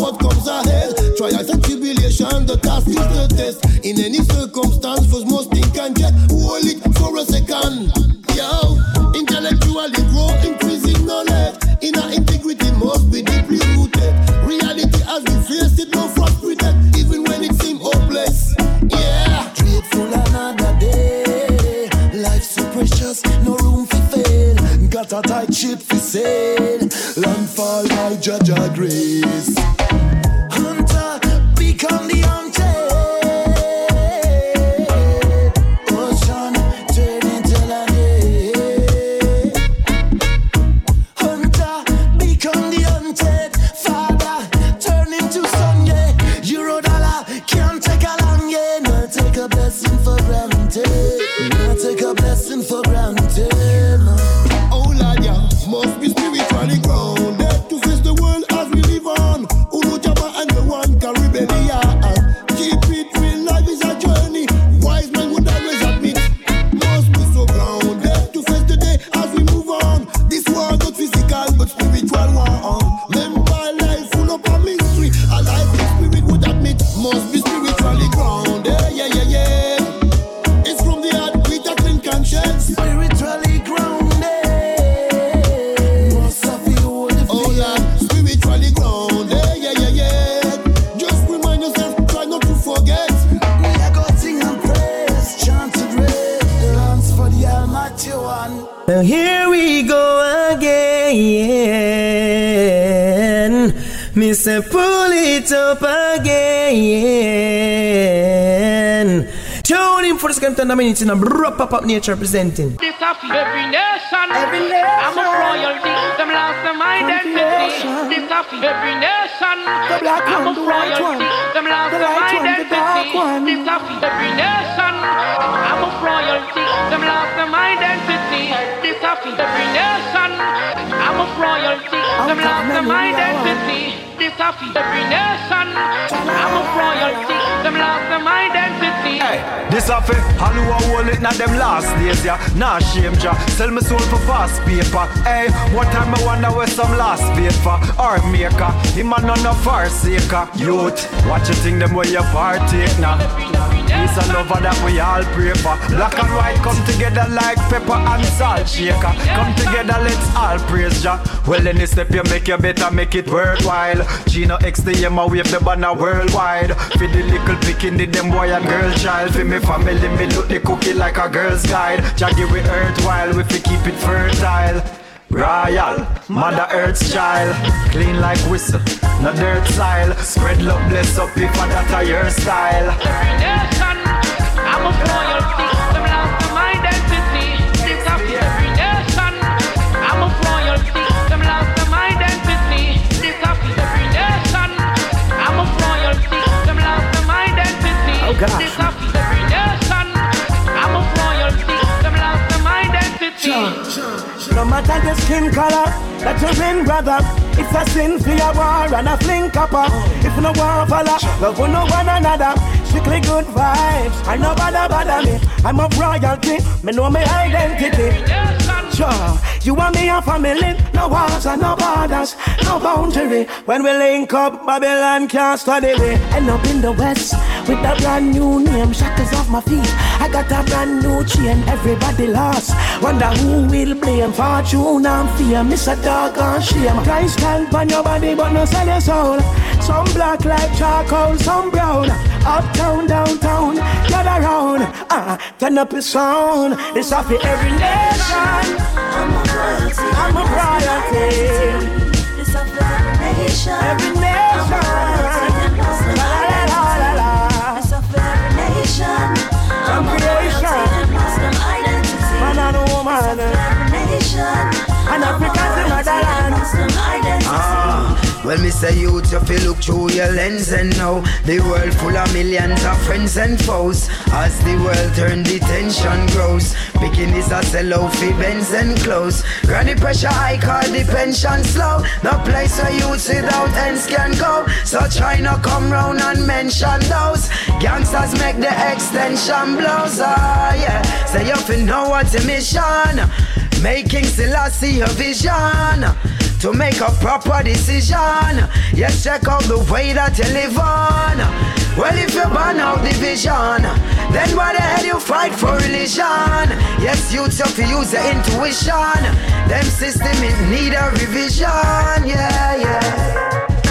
S20: what comes ahead. Trials and tribulation, the task is the test. In any circumstance, first must think and check. Hold it for a second. Yo, intellectually grow, increasing knowledge. Inner integrity must be deeply rooted. Reality as we face it, no frustrated, even when it seems hopeless. Yeah, grateful another day. Life's so precious, no room for fail. Got a tight ship for sail. Landfall by Jaja grace. Hunter, become the hunted. Ocean, turn into land. Hunter, become the hunted. Father, turn into son, yeah. Eurodollar, can't take a long, yeah. Not take a blessing for granted. Not take a blessing for granted. Oh Lord, yeah, must be spiritually grounded to face the world as we live on. Ulu Jabba and the one Caribbean. Keep it real, life is a journey. Wise man would always admit. Must be so grounded to face the day as we move on. This war not physical but spiritual one. Remember life full of a mystery. A life in spirit would admit. Must be spiritually grounded. Yeah, yeah, yeah. It's from the heart with a clean conscience. Spiritually grounded. Must have you hold the oh Lord, spiritually grounded. Yeah, yeah, yeah. Just remind yourself, try not to forget. We are going sing and praise, chant to grace. Dance for the Almighty One.
S11: Now here we go again. Me say pull it up again. Tune in for the second 10 minutes in a pop-up nature presenting.
S21: This of every nation, I'm a royalty. Them lost their identity. This of every nation, I'm a royalty. Them lost their identity. This of every nation, I'm a royalty. Them lost their identity. This of every nation, I'm a royalty. Them lost their identity. This of every nation, I'm a royalty. Them lost their identity.
S12: This a fi all who a hold it na them last days, yeah. Nah shame ja, sell me soul for fast paper. Hey, one time I wonder where some last paper or maker. Him a none of our saker. Youth, watch you think them where you partake now. Peace and love that we all pray for. Black and white come together like pepper and salt shaker. Come together, let's all praise ja. Well any step you make, you better make it worthwhile. Gino XDM a wave the banner worldwide. For the little picking the them boy and girl child. For me family, me look the cookie like a girl's guide. Jaggy we earth while we fi keep it fertile. Royal, Mother Earth's child. Clean like whistle, no dirt style. Spread love, bless up if that a your style.
S21: Every nation, I'm a royalty. Them lost their identity. This of every nation, I'm a royalty. Them lost their identity. This of every nation, I'm a royalty. Them lost their identity.
S11: Oh gosh.
S21: This of every nation, I'm a royalty. Them lost their identity.
S18: No matter the skin color, that you win, brother. It's a sin for your war and a fling copper. If no war follow, love will no one another. Strictly good vibes, I no bother me. I'm a royalty, me know my identity. Sure, you and me a family. No walls and no borders, no boundary. When we link up, Babylon can't study me. End up in the west with a brand new name, shackles off my feet. I got a brand new chain, everybody lost. Wonder who will blame fortune and fear. Miss a dog and shame. Christ stand on your body but no sell your soul. Some black like charcoal, some brown. Uptown, downtown, gather round. Turn up your sound. It's off for every nation. I'm a royalty. I'm a royalty. It's off for every nation. Every nation. La la la la. It's off for every nation. I'm a creation. Man and woman. Every nation. And Africa's the motherland.
S16: Well, me say youth, you feel look through your lens and know the world full of millions of friends and foes. As the world turn, the tension grows. Bikinis a sell out for Benz and clothes. Granny pressure high, call the pension slow. No place where youths without ends can go. So try not come round and mention those. Gangsters make the extension blows. Yeah, say you feel know what's your mission. Making Selassie a vision.
S6: to make a proper decision. Yes, check out the way that you live on. Well, if you burn out division, then why the hell you fight for religion? Yes, youths have to use your intuition. Them system it need a revision. Yeah, yeah.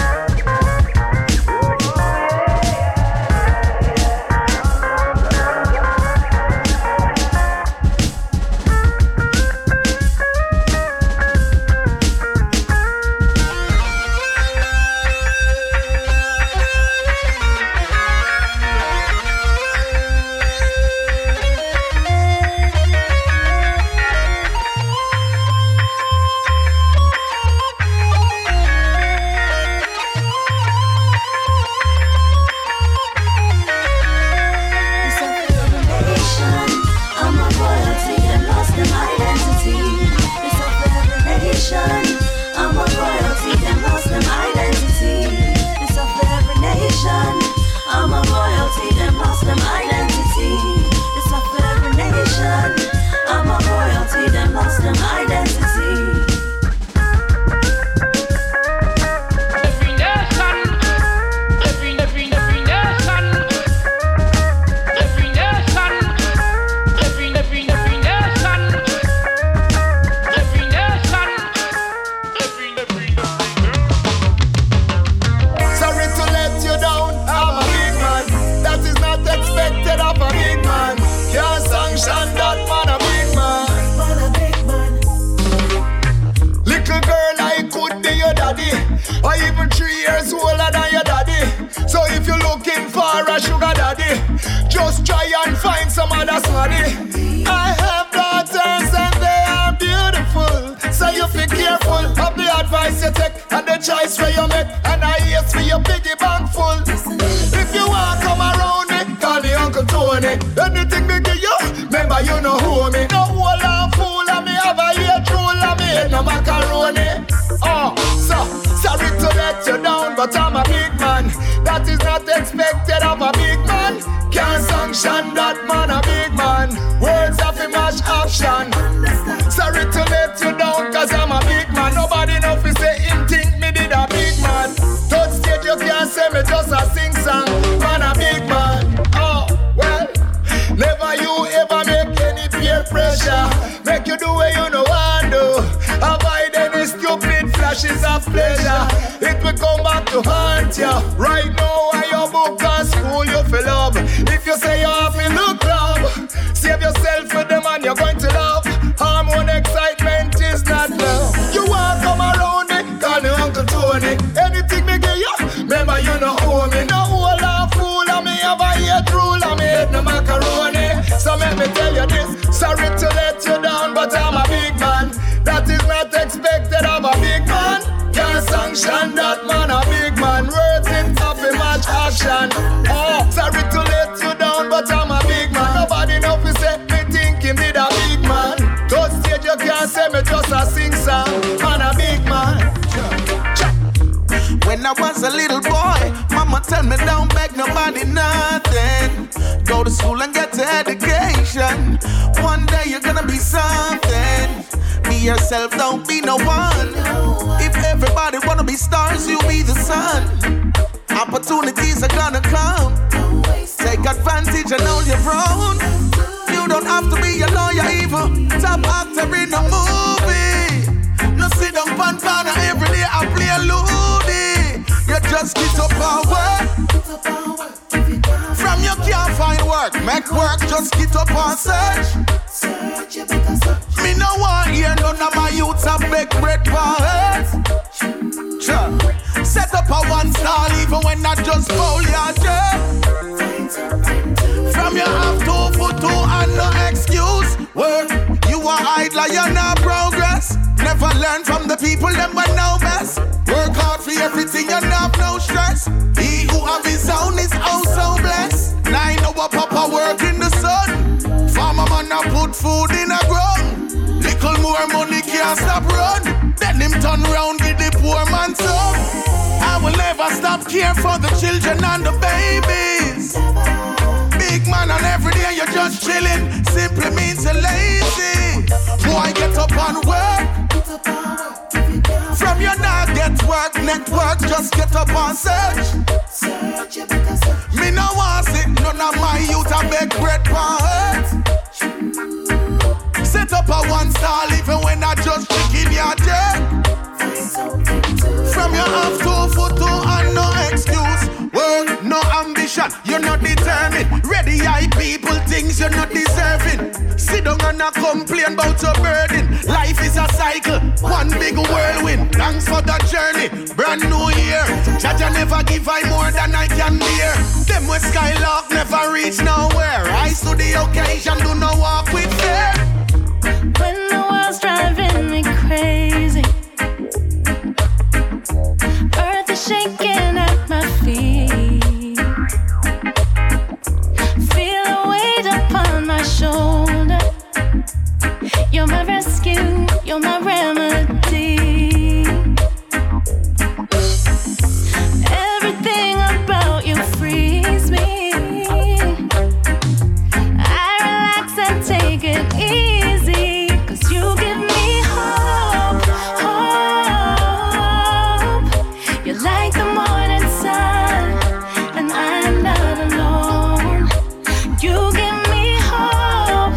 S22: When I was a little boy, mama tell me don't beg nobody nothing. Go to school and get an education. One day you're gonna be something. Be yourself, don't be no one. If everybody wanna be stars, you be the sun. Opportunities are gonna come. Take advantage and hold your own. You don't have to be a lawyer even. Top actor in a movie. No sit down pan corner every day I play a loony. You just get up and work. From you can't find work, make work, just get up and search. Me no want hear none of my youths a beg bread for earth. Set up a one stall even when I just foul your dirt. From you have 2 foot 2 and no excuse. Work, you are idler, you're not progress. Never learn from the people, them but know best. Work hard for everything, you have no stress. He who have his own is also blessed. 9 hour papa work in the sun. Farmer man a put food in a ground. Little more money can't stop run. Then him turn round with the poor man son. I will never stop care for the children and the babies. Big man and every day you're just chilling. Simply means you're lazy. Boy, get up and work. From your network, just get up and search. Me no want sit, none of my youth a beg bread for hurt. Set up a one stall even when I just chicken your dirt. From your half 2 foot 2 and no excuse. Work, no ambition, you're not determined. Ready eye people, things you're not deserving. Sit down and not complain about your burden. Life is a cycle, one big whirlwind. Thanks for the journey, brand new year. Jaja never give I more than I can bear. Them with Skylark never reach nowhere. Rise to the occasion, do not walk with fear.
S19: When the world's driving me crazy, earth is shaking at my feet. Feel a weight upon my shoulder. You're my rescue, you're my remedy. Everything about you frees me. I relax and take it easy, 'cause you give me hope, hope. You're like the morning sun, and I'm not alone. You give me hope,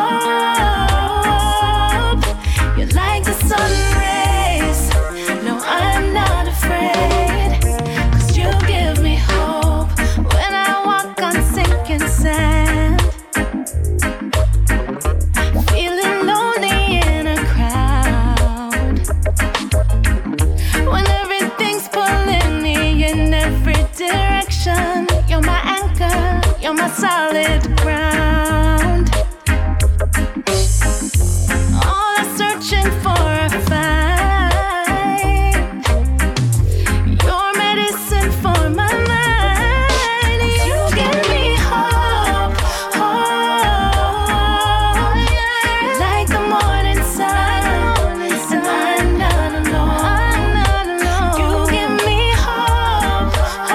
S19: hope. You're like the sun rays. No, I'm not afraid, 'cause you give me hope when I walk on sinking sand. Feeling lonely in a crowd, when everything's pulling me in every direction. You're my anchor, you're my solid ground. All I'm searching for I find. Your medicine for my mind. You give me hope, hope. Like the morning sun, and I'm not alone. You give me hope,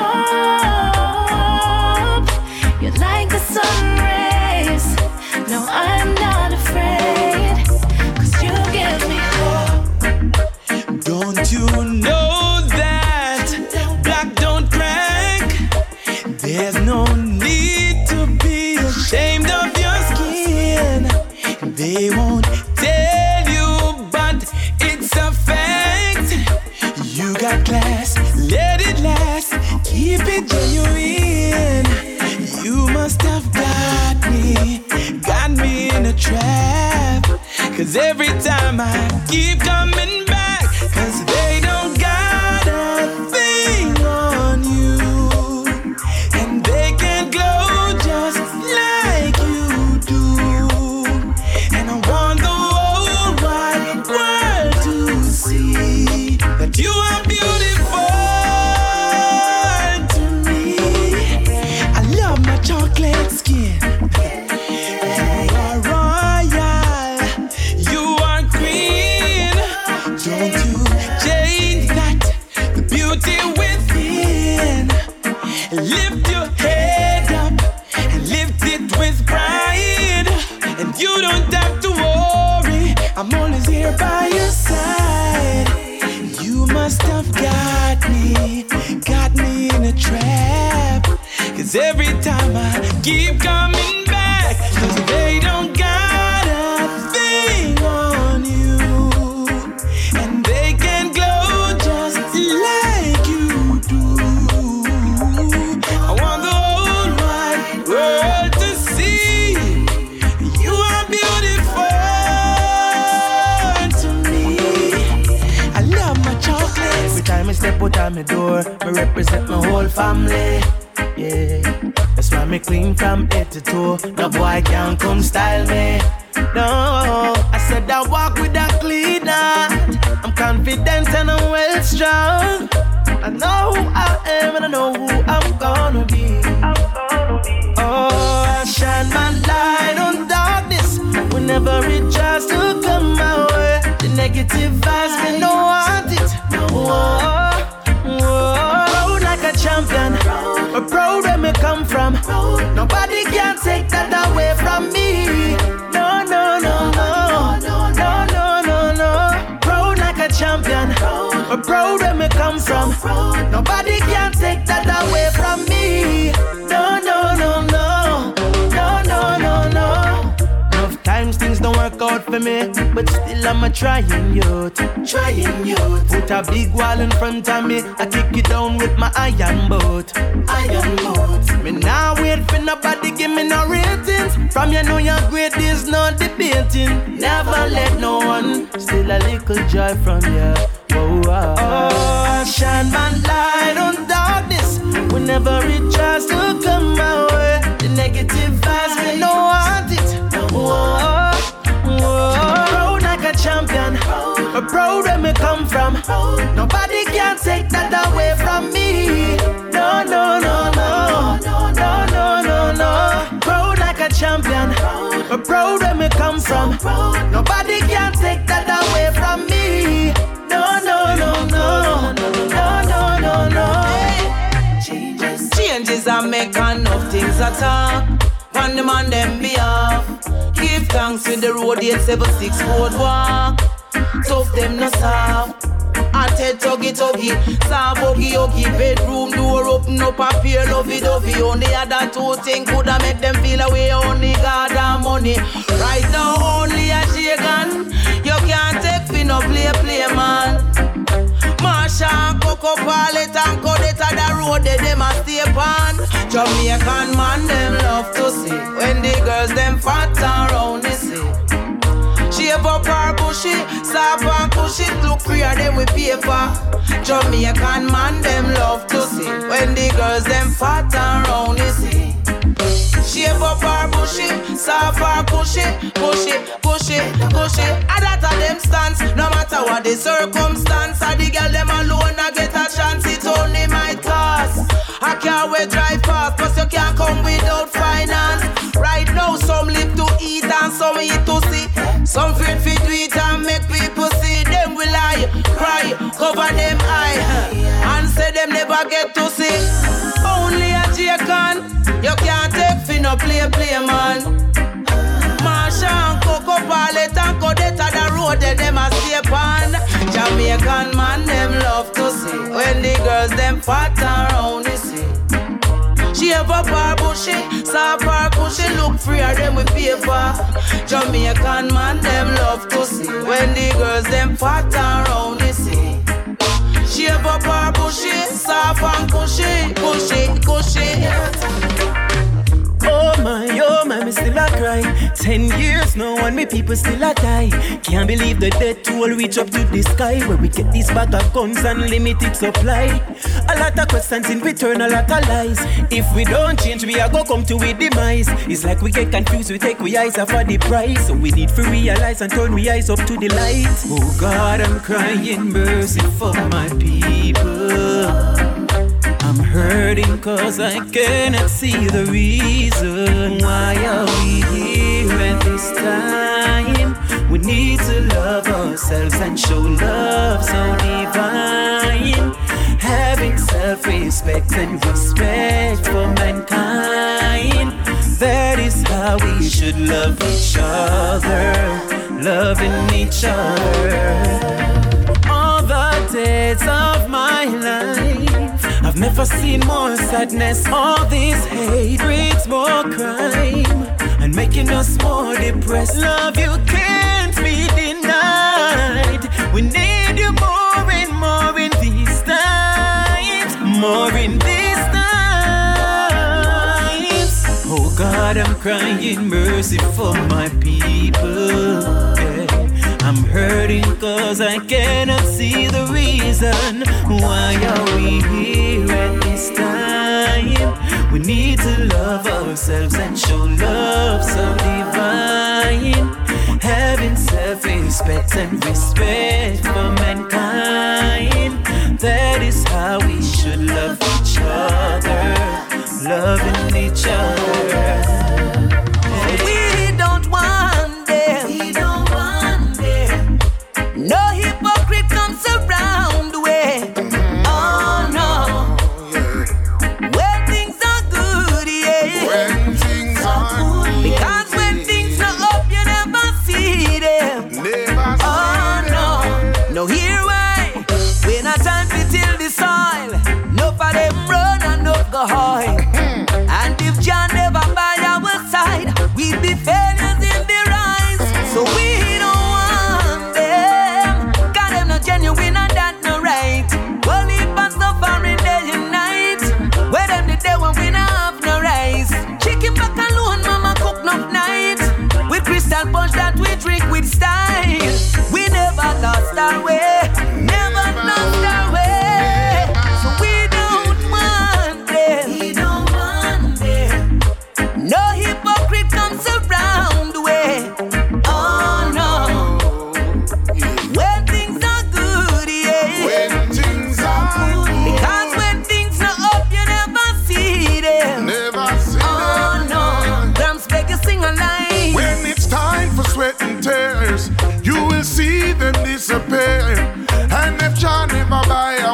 S19: hope. You're like the sun rays. No, I'm not afraid, 'cause you give me hope.
S2: Don't you know that black don't crack? There's no need to be ashamed of your skin. They won't tell you, but it's a fact. You got class, let it last, keep it genuine. You must have got me in a trap. 'Cause every time I keep coming back, 'cause they don't got a thing on you, and they can glow just like you do. And I want the whole wide world to see that you are beautiful to me. I love my chocolate skin. You are royal, you are queen. Don't you change that, the beauty within. Lift your head up and lift it with pride. And you don't have to worry, I'm always here by your side. You must have got me in a trap. 'Cause every time I keep coming back, 'cause they don't got a thing on you, and they can glow just like you do. I want the whole wide world to see you are beautiful to me. I love my chocolate.
S11: Every time I step out on my door, I represent my whole family. Yeah, that's why me clean from head to toe. No boy can't come style me. No, I said I walk with a clean heart. I'm confident and I'm well strong. I know who I am and I know who I'm gonna be. Oh, I shine my light on darkness whenever it tries to come my way. The negative vibes, me no want it. Whoa, whoa, like a champion. We're proud where me come from. Nobody can take that away from me. No, no, no, no, no, no, no, no. Proud like a champion. We're proud where me come for me, but still I'm a trying youth. Trying youth. Put a big wall in front of me, I kick it down with my iron boat. Iron boat. Me now wait for nobody give me no ratings. From you know you're great, there's no debating. Never let no one steal a little joy from you. Oh, shine my light on darkness whenever it tries to come my way. The negative vibes, me no want it. Whoa, proud like a champion, proud where me come from. Nobody can take that away from me. No, no, no, no, no, no, no, no. Proud like a champion, proud where me come from. Nobody can take that away from me. No, no, no, no, no, no, no, no. Changes I make enough things I talk. On them on them behalf. Give thanks with the road 876 boardwalk. Tough them no soft. I tell tuggy tuggy, soft huggy huggy. Bedroom door open up a pair lovey dovey. Only other two things coulda make them feel away. Only God and money. Right now only a shaken. You can't take fi no play man. Marsha and Coco Pallet and Codetta the road they them a stay on. Jamaican man them love to see when the girls them fat and round they see. Shave up her bushy, soft and cushy, look freer them with paper. Jamaican man them love to see when the girls them fat and round they see. Shave up her bushy, soft and cushy, pushy, pushy, pushy. And that a them stance, no matter what the circumstance. And the girl them alone I get a chance, it's only my task. I can't wait drive fast, cause you can't come without finance. Right now some live to eat and some eat to see. Some fear fit to eat and make people see. Them will lie, cry, cover them eye, and say them never get to see. Only a J-Con, you can't take fi no play man. Marsha and Coco Pallet and Codetta the road that them a stay on. Jamaican man them love to see when the girls them fat and round they see. Shave up her bushy, soft her cushy, look freer them with paper. Jamaican man them love to see when the girls them fat and round they see. Shave up her bushy, soft and cushy, cushy, cushy. Oh my, me still a cry. 10 years now and me people still a die. Can't believe the death toll reach up to the sky. Where we get these bag of guns and limited supply. A lot of questions in return, a lot of lies. If we don't change, we are go come to a demise. It's like we get confused, we take we eyes off of the price. So we need to realize and turn we eyes up to the light. Oh God, I'm crying mercy for my people. I'm hurting cause I cannot see the reason. Why are we here at this time? We need to love ourselves and show love so divine. Having self-respect and respect for mankind. That is how we should love each other. Loving each other. All the days of my life I've never seen more sadness. All this hate breeds more crime and making us more depressed. Love you can't be denied. We need you more and more in these times. More in these times. Oh God, I'm crying mercy for my people. Yeah. I'm hurting cause I cannot see the reason. Why are we here at this time? We need to love ourselves and show love so divine. Having self-respect and respect for mankind. That is how we should love each other. Loving each other.
S7: We don't want them. We don't want them. No hypocrite comes around the way. Oh no. When things are good, yeah.
S9: When things are good.
S7: Because when things are up, you never see them.
S9: Never
S7: oh no. No here why. When a time to till the soil. No for them run and no go high. And if John never buy a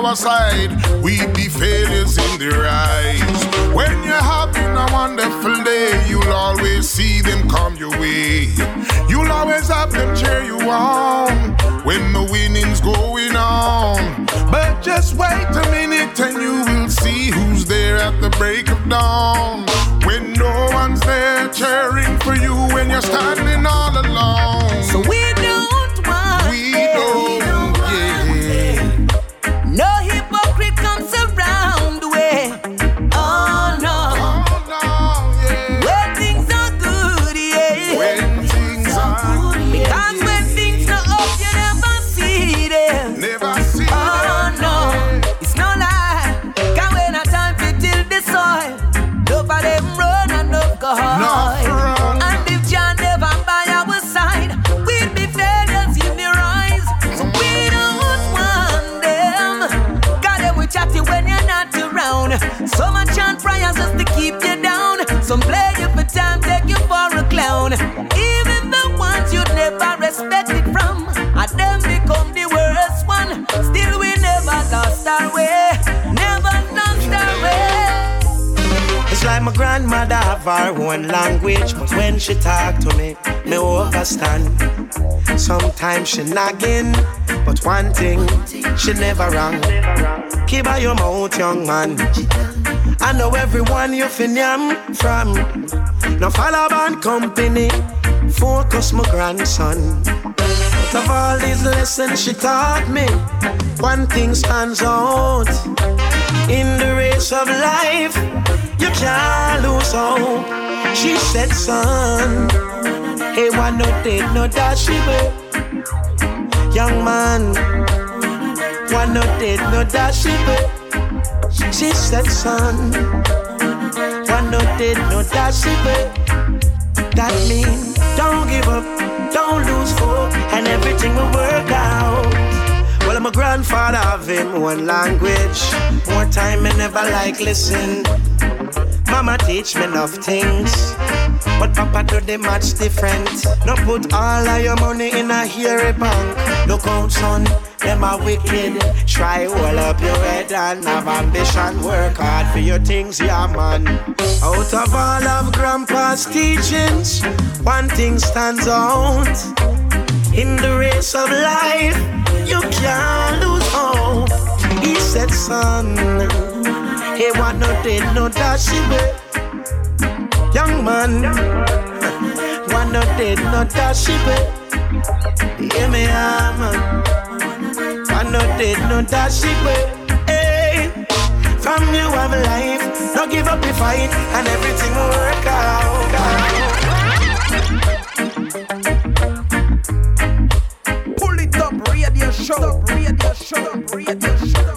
S1: our side, we'd be failures in their eyes. When you're having a wonderful day, you'll always see them come your way. You'll always have them cheer you on when the winning's going on. But just wait a minute and you will see who's there at the break of dawn. When no one's there cheering for you when you're standing all alone.
S7: So we don't want no hypocrite comes around way. Oh no, when things are good, yeah.
S1: When things are good,
S7: because when things are up, you never see them.
S1: Never see them.
S7: Oh no, it's no lie. Cause when a time to till the soil, enough of them run and enough go hard. And if John never by our side, we'd be failures in their eyes. So we don't want them. Got them with chatty when you're not around. So much chant prayers just to keep you down. Some play you for time, take you for a clown. Even the ones you'd never respected from, and them become the worst one. Still we never lost our way. Never lost our way.
S8: It's like my grandmother have her own language, but when she talk to me understand. Sometimes she nagging, but one thing, she never wrong. Keep by your mouth, young man. I know everyone you finyam from. No follow bad company, focus my grandson. Out of all these lessons she taught me, one thing stands out. In the race of life, you can't lose hope. She said, son, hey, one no dead, no dash it. Young man, one no dead, no dash it. She said, son, one no dead, no dash it. That means don't give up, don't lose hope, and everything will work out. Well, my grandfather have him one language. More time I never like listen. Mama teach me enough things, but Papa do the much different. No put all of your money in a hairy bank. Look out, son, them are wicked. Try hold up your head and have ambition. Work hard for your things, yeah man. Out of all of Grandpa's teachings, one thing stands out. In the race of life, you can't lose hope. He said, son, he want no dead, no dash away. Young man, want no dead, no dash away. Hear me, man. Want no dead, no dash away. Hey, from you have life, don't give up the fight, and everything will work out.
S22: Pull it up, radio show, radio show, radio show.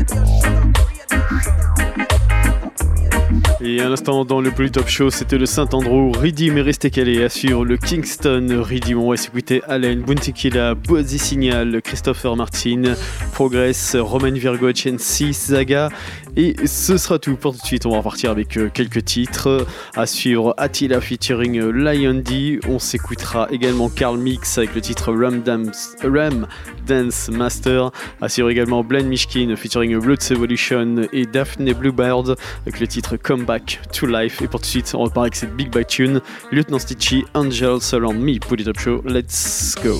S5: Et à l'instant dans le Polytop Show, c'était le Saint-Andrew, Riddim et Resté Calé à suivre le Kingston Riddim. On va s'écouter Allen, Buntikila, Bozy Signal, Christopher Martin, Progress, Roman Virgo, NC, Zaga. Et ce sera tout pour tout de suite. On va repartir avec quelques titres. À suivre Attila featuring Lion D. On s'écoutera également Carl Mix avec le titre Ram Dance Master. À suivre également Blind Mishkin featuring Blood's Evolution et Daphne Bluebird avec le titre Come Back to Life. Et pour tout de suite, on repart avec cette big bite tune Lieutenant Stitchy, Angels Around Me. Polytop Show, let's go.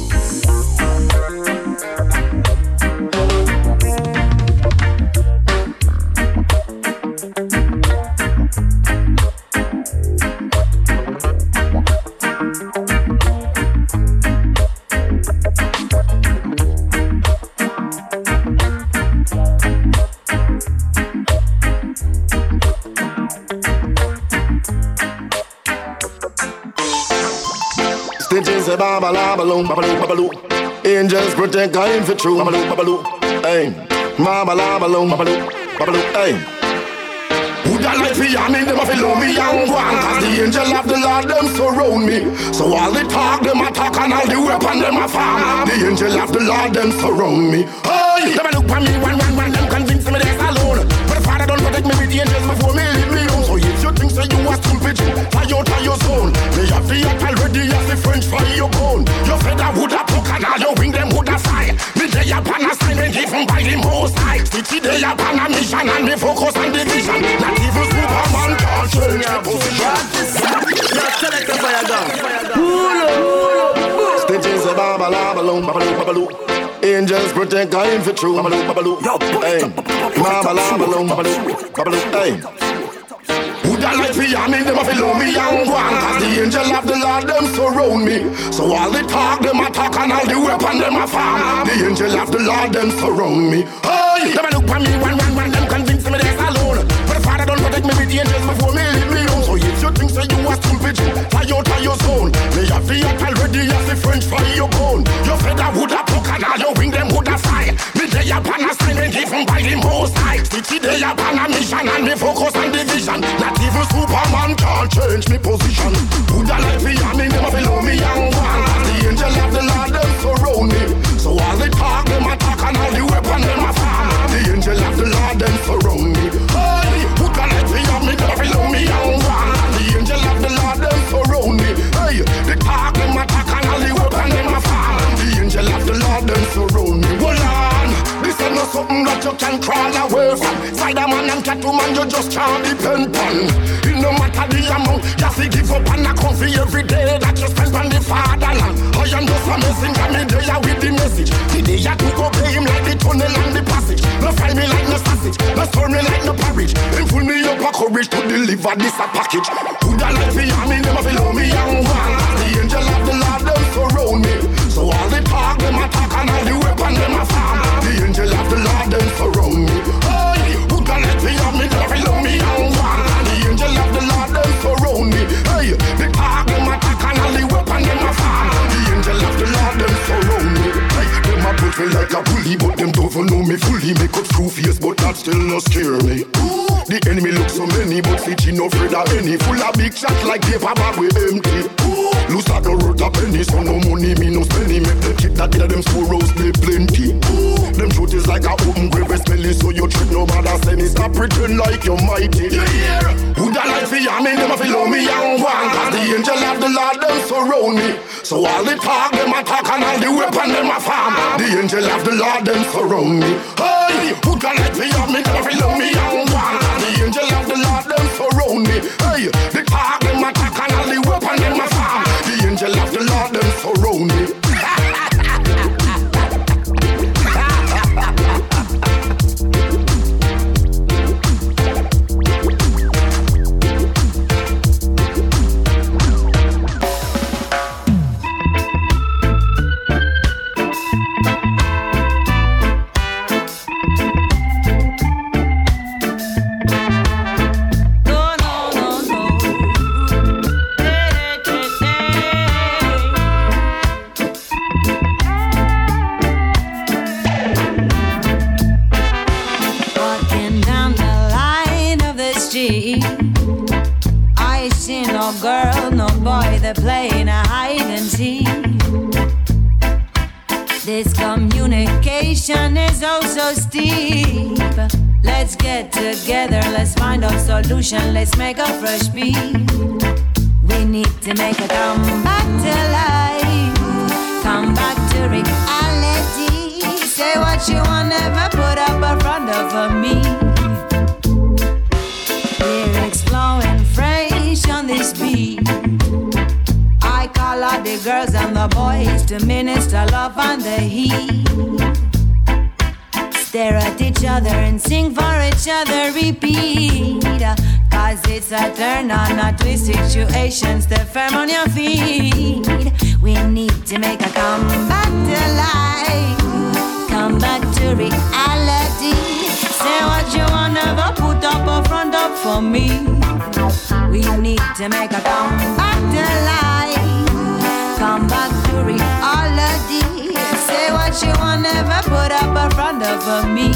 S23: Stitches a babaloo, babaloo, babaloo. Angels protect God for true, babaloo, babaloo. Hey, babaloo, babaloo, babaloo. Hey. Who that like me? I mean them a feel me and go on. Cause the angel of the Lord them surround me. So all the talk them attack and all the weapon them a farm. The angel of the Lord them surround me. Hey, them a look for me one them convince me they're alone. But the Father don't protect me with the angels before me leave me home. So if you think so you a stupid, fly out of your zone. Me have the act already as the French fire your bone. Your feather would have broke and all your wing them would have fly. Me day upon a sign and give given by the Most High. City they upon a mission and me focus on the vision. Not even Superman can't change the position.
S3: Select the fire gun.
S23: Stitches a babaloo, babaloo, babaloo. Angels protect God for true. Babaloo, babaloo. Hey, babaloo, babaloo, babaloo. Hey. Who that like me, I mean them a follow me and go on. Cause the angel of the Lord them surround me. So all the talk them attack and all the weapon them a farm. The angel of the Lord them surround me. Hey, them a look for me one, them convince me they're alone. But the Father don't protect me with the angels before me leave me home. So if you think so you a stupid, fly out of your zone. Me have the act already as the French fry your bone. Your feather would have poke and all your wing them would have fly. Me day upon assignment given by the Most High. City day upon a mission and me focus on the vision. Not even Superman can't change me position. Who that like me, I mean them a below me and one. The angel of the Lord them surround me. So all the talk them attack and all the weapon them a farm. The angel of the Lord them surround me. Hey, who that like me, I mean them a below me and one. The angel of the Lord them surround me. Hey, the talk them attack and all the weapon them a farm. The angel of the Lord them surround me. Hold on, this is not something that you can crawl away from. Spider-Man and Catwoman you just can't depend on. It no matter the amount, you have to give up and account for every day that you spend on the fatherland. I am just a messenger, me there with the message. The day you to obey him like the tunnel and the passage. No find me like no sausage, no store me like no porridge. Him full me up a courage to deliver this a package. Who that like me, I mean them a below me and one. The angel of the Lord them surround me. So all the talk them attack and all the weapon them a farm. The angel of the Lord them surround me. Hey, who that like me, I mean them a below me and one. The angel of the Lord them surround me. Hey, the talk them attack and all the weapon them a farm. The angel of the Lord them surround me. Hey, them a put me like a bully, but them don't know me fully. Me cut through face, but that still no scare me. The enemy look so many, but Fitchy no afraid of any. Full of big shots like paper bag we empty. Loose at the road a penny, so no money me no spending. Make the kid that get them squirrels they plenty. Them truth is like a open grave smelly, so you treat no bad as any. Stop pretend like you're mighty. Yeah. Who that like for I mean them a follow me and one. Cause the angel of the Lord them surround me. So all the talk them attack and all the weapon them a farm. The angel of the Lord them surround me. Hey, who that like for I mean them a follow me and one. The angel of the Lord them surround me. Hey, the talk them attack and all the weapon them a farm. The angel of the Lord them surround me.
S19: I see no girl, no boy, they're playing a hide and seek. This communication is oh so steep. Let's get together, let's find a solution, let's make a fresh beat. We need to make a come back to life, come back to reality. Say what you want, never put up in front of me. Lyrics flowing fresh on this beat. I call out the girls and the boys to minister love and the heat. Stare at each other and sing for each other, repeat. Cause it's a turn on, a twist situation. Stay firm on your feet. We need to make a come back to life, come back to reality. Say what you want, never put up a front up for me. We need to make a come back to life, come back to reality. Say what you want, never put up a front up for me.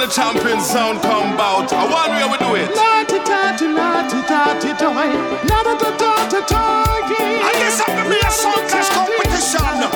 S22: the champion sound come about. I want where we do it. I guess I'm gonna be a sound clash competition.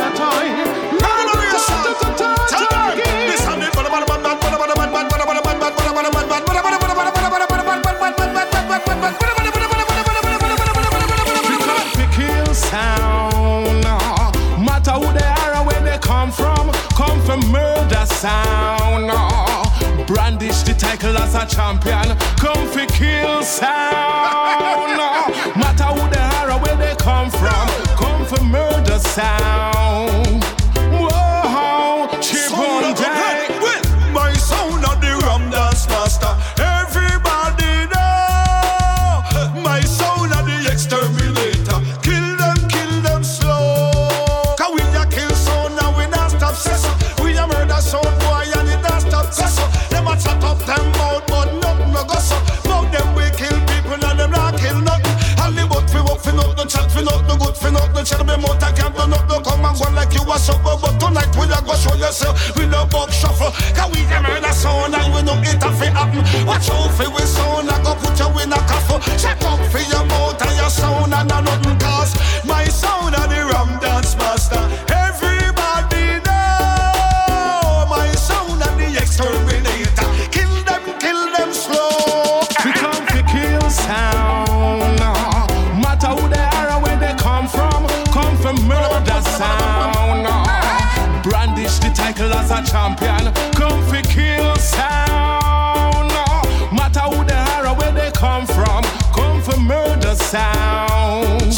S22: Sound, matter who they are or where they come from murder sound. Brandish the title as a champion, come for kill sound. Matter who they are or where they come for murder sound. Whoa, chip on day. My sound of the rum dance master. Everybody know my sound of the exterminator. Kill them slow. Cause we a kill sound and we not stop session. We a murder sound boy and it not stop session. Them a chat up them mouth but nothing no go so. Mouth them we kill people and them not kill nothing. And the boat fi work fi nothing, chat fi nothing, good fi nothing. Chat me mouth I can't do nothing. Come and go like you a supper. But tonight we a go show yourself. We no buck shuffle. Cause we a murder sound and we no get a fi happen. Watch out fi we sound and go put you in a coffin. Check up fi your mouth and your sound and a nothing cause my sound of the rum dance master. Everybody know my sound of the exterminator. Kill them slow. We come to kill sound. Matter who they are or where they come from murder sound. Brandish the title as a champion, come for kill sound. Matter who they are or where they come for murder sound.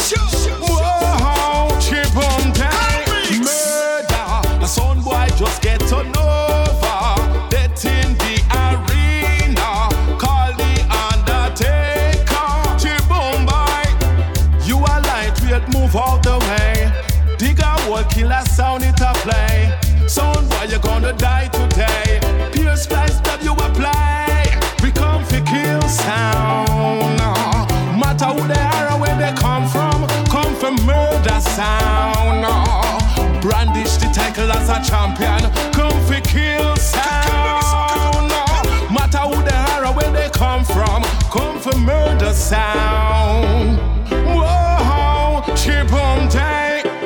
S22: Whoa, chip on time. Murder, a sound boy just get on over. Death in the arena, call the undertaker. Chip on by, you are lightweight, move out the way. Dig a hole, kill a sound, it a play. Sound boy, you're gonna die today. Pure splice that you apply. We come for kill sound. Matter who they are or where they come from murder sound. Brandish the title as a champion, come for kill sound. Matter who they are or where they come for murder sound. Whoa, chip on day.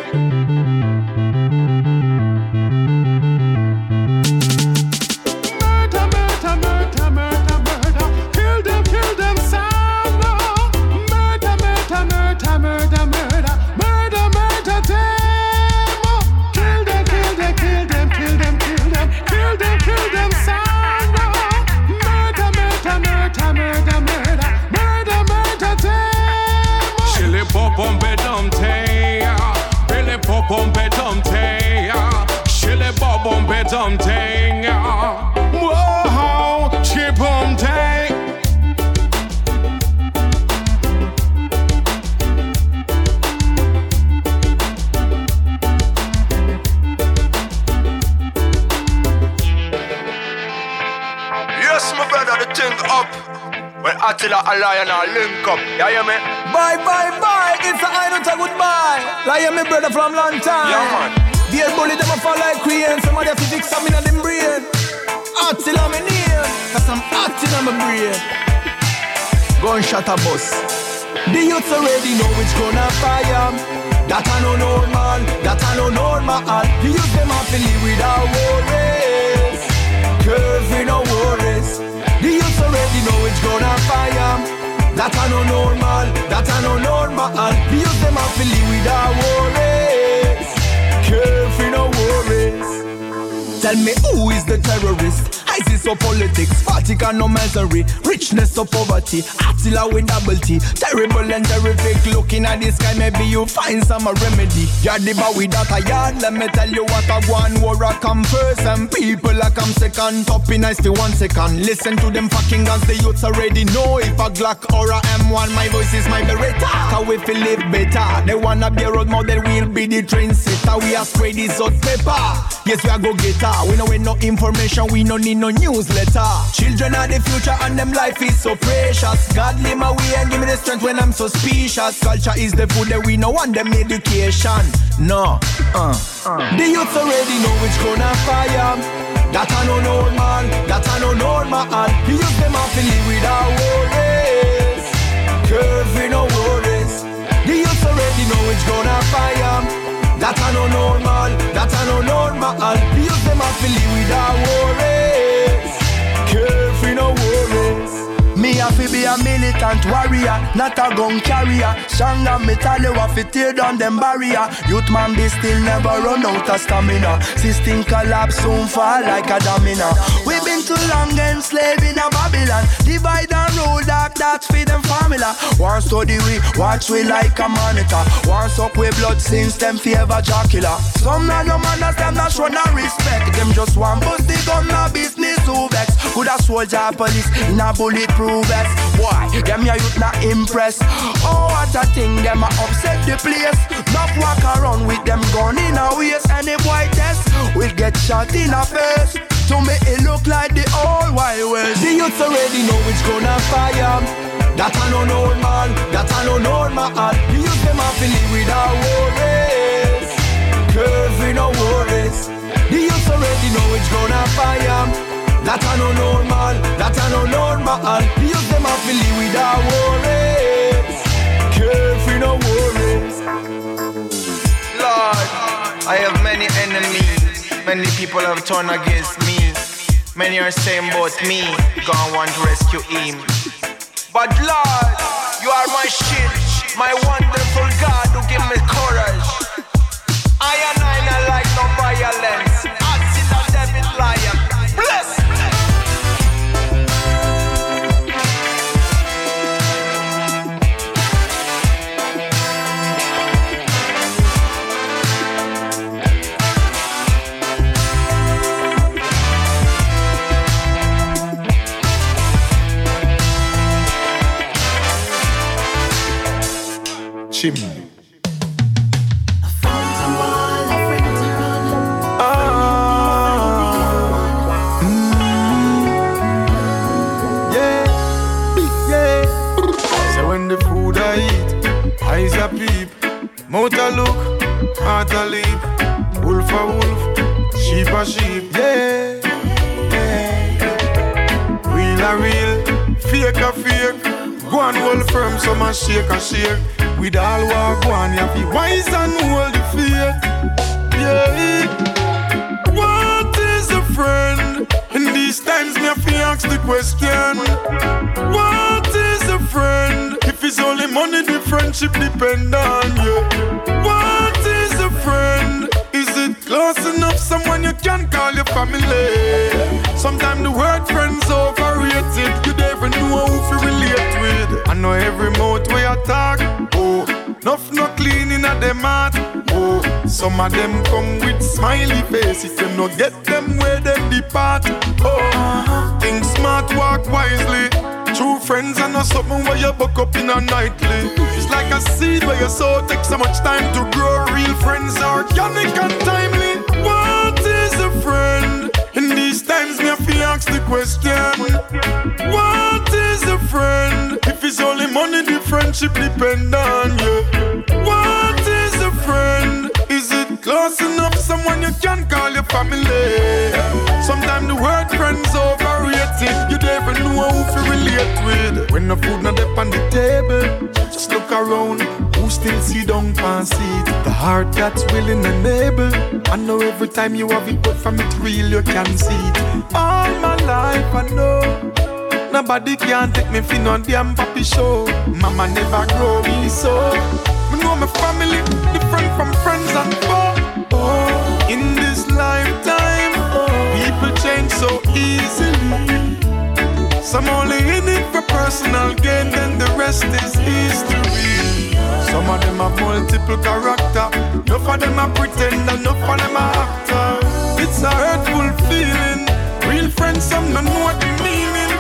S22: Something, whoa, chip on day. Yes, my brother, the thing up. When Attila and Lion are link up, you hear me?
S11: Bye, it's a I don't a goodbye. Lion, my brother from long time.
S22: Yeah, man.
S11: Dear bully, them a fall like crane. Some of their physics come in on them brain. Attila me name, cause I'm acting on my brain. Gunshot a bus. The youths already know which gonna fire. That I no normal, The youth them have to live without worries. Curvy no worries. The youths already know which gonna fire. That I no normal, The youth them have to live without worries. Curfew, no worries. Tell me who is the terrorist? ISIS or politics, Vatican or misery, richness or poverty, Attila with double T, terrible and terrific. Looking at the sky, maybe you find some remedy. You're the bow without a yard, let me tell you what I want. War I come first and people I come second. Topping nice for 1 second. Listen to them fucking guns, the youths already know. If a Glock or a M1, my voice is my Beretta. Cause we feel live better. They wanna be a road model, we'll be the train setter. We are spray this hot pepper. Yes, we are go getter. We know no information, we no need no newsletter. Children are the future and them life is so precious. God lead my way and give me the strength when I'm suspicious. Culture is the food that we know want them education. No, The youths already know which gonna fire. That I no normal, that I no normal. You use them off and live without worries. Curvy no worries. The youth already know it's gonna fire. That I no normal, that I no normal. You use them off and live without worries. Curvy no worries.
S4: Me have to be a militant warrior, not a gun carrier. Strong and metal, you have to tear down them barrier. Youth man, they still never run out of stamina. System collapse, soon fall like a domino. We been too long enslaved in a Babylon. Divide and rule, dark, that's for them formula. One study we, watch we like a monitor. One suck with blood since them favor Dracula. Some not no manners, them not show no respect. Them just want bust the gun, no business who vex. Could a soldier police in a bulletproof vest. Why? Them your youth not impressed. Oh, what a thing, them a upset the place. Not walk around with them gun in a waist. Any boy test will get shot in a face. To make it look like the old Wild West.
S11: The youths already know it's gonna fire. That I no normal, that I no normal. The youth them have to live without worries. Curvy no worries. The youths already know it's gonna fire. That I no normal, that I no normal. The youth them have to live without worries. Curvy no worries.
S10: Lord, I have many enemies. Many people have turned against me. Many are saying about me, God want to rescue him. But Lord, you are my shield, my wonderful God who give me courage. I and I not like no violence. I see the devil lion. Bless.
S22: Chimney. So when the food I eat, eyes a peep, mouth a look, heart a leap, wolf a wolf, sheep a sheep, yeah. Real a real, fake a fake. Go and hold firm, some a shake a shake. With all walk one, you have to be wise and hold the faith. Yeah. What is a friend? In these times, me have to ask the question. What is a friend? If it's only money, the friendship depend on you. What is a friend? Is it close enough? Someone you can call your family. Sometimes the word friend's overrated. You never know who to relate with. I know every mouth where you talk. Oh, enough no cleaning at them heart. Oh, some of them come with smiley faces. Them no get them where them depart. Oh, think smart, walk wisely. True friends are not something where you buck up in a nightly. It's like a seed where you sow takes so much time to grow. Real friends are organic and timely. What is a friend? In these times, me have to ask the question. What is a friend? If it's only money, the friendship depend on you. What is a friend? Is it close enough? Someone you can call your family. Sometimes the word friend's overrated. You never know who to relate with. When the food not up on the table, just look around. Who still see down and see it? The heart that's willing and able. I know every time you have it, but from it real you can see it. All my life I know nobody can take me for no damn papi show. Mama never grow me so. Me know my family different from friends and foe. Oh, in this lifetime, people change so easily. Some only in it for personal gain, then the rest is history. Some of them have multiple character. Enough of them are pretend, enough of them are actor. It's a hurtful feeling. Real friends, some don't know what the meaning.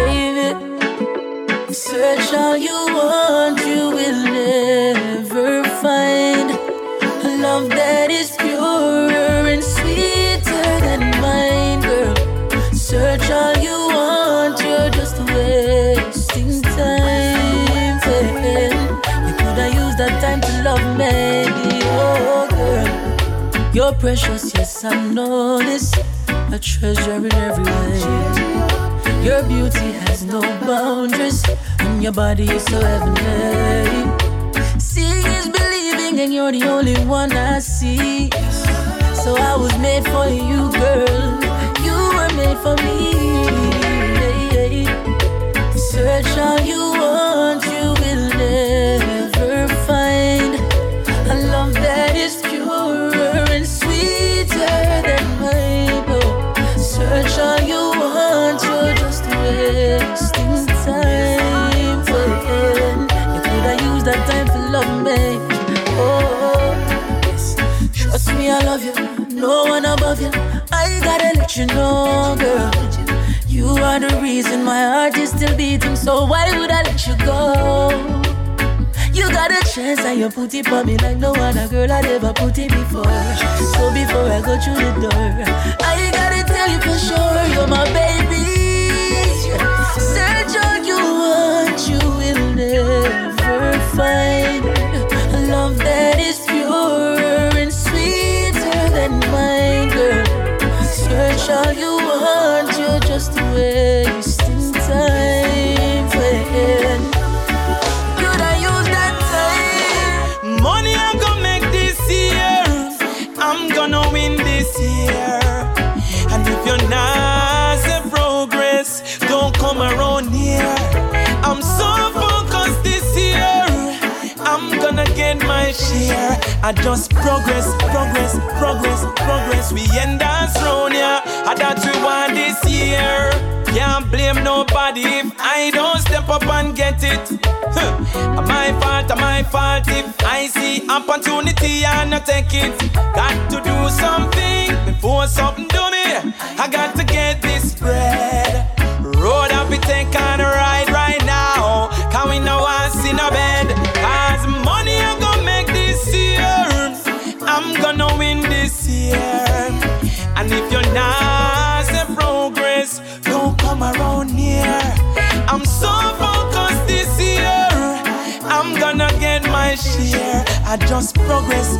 S19: Baby, search all you want, you will never find a love that is purer and sweeter than mine, girl. Search all you want, you're just wasting time, baby. You coulda used that time to love me, oh girl. You're precious, yes I know this.
S13: a treasure in every way. Your beauty has no boundaries, and your body is so heavenly. Seeing is believing, and you're the only one I see. So I was made for you, girl. You were made for me. Search all you want, you will never find a love that is purer and sweeter than mine. Oh, search all you want, you're just wasting time. You could have used that time to love me. Oh, yes. Trust me, I love you. No one above you. I gotta let you know, girl. You are the reason my heart is still beating, so why would I let you go? You got a chance and you put it on me like no other girl I'd ever put it before. So before I go through the door, I gotta tell you for sure, you're my baby. Search all you want, you will never find a love that is purer and sweeter than mine, girl. Search all you want, you're just wasting time. Could I use that time?
S8: Money I'm gonna make this year, I'm gonna win this year. And if you're not a progress, don't come around here. I'm so focused this year, I'm gonna get my share. I just progress. We end us round here, and that we want this year. Can't blame nobody if I don't step up and get it. My fault if I see opportunity and I take it. Got to do something before something do me. I got to get this bread. Road up it take on a ride right now. Can we know us in a bed? Cause money I'm gonna make this year, I'm gonna win this year. And if you're not a progress, don't come around here. I'm so focused this year, I'm gonna get my share. I just progress.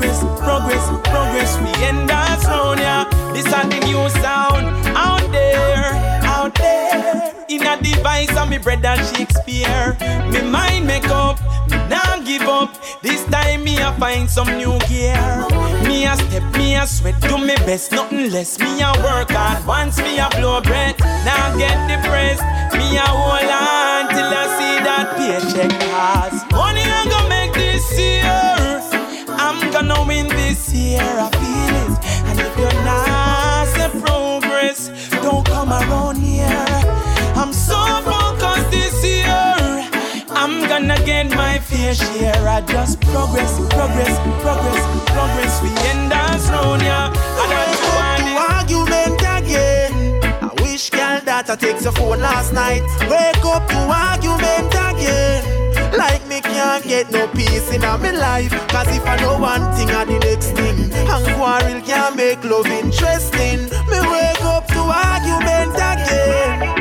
S8: We end us round here. This is the new sound out there. In a device of me brother Shakespeare. Me mind make up, me nah give up. This time me a find some new gear. Me a step, me a sweat, do me best, nothing less. Me a work hard, once me a blow breath. Now get depressed, me a hold on till I see that paycheck pass. Money I'm gonna make this year, I'm gonna win this year, I feel it. And if you're not a progress, don't come around here. I'm so focused this year, I'm gonna get my fair share. I just progress. We end us round here. I don't want the argument again. I wish girl that I take the phone last night. Wake up to argument again. Like me can't get no peace in my life. Cause if I know one thing or the next thing, and quarrel can't make love interesting. Me wake up to argument again.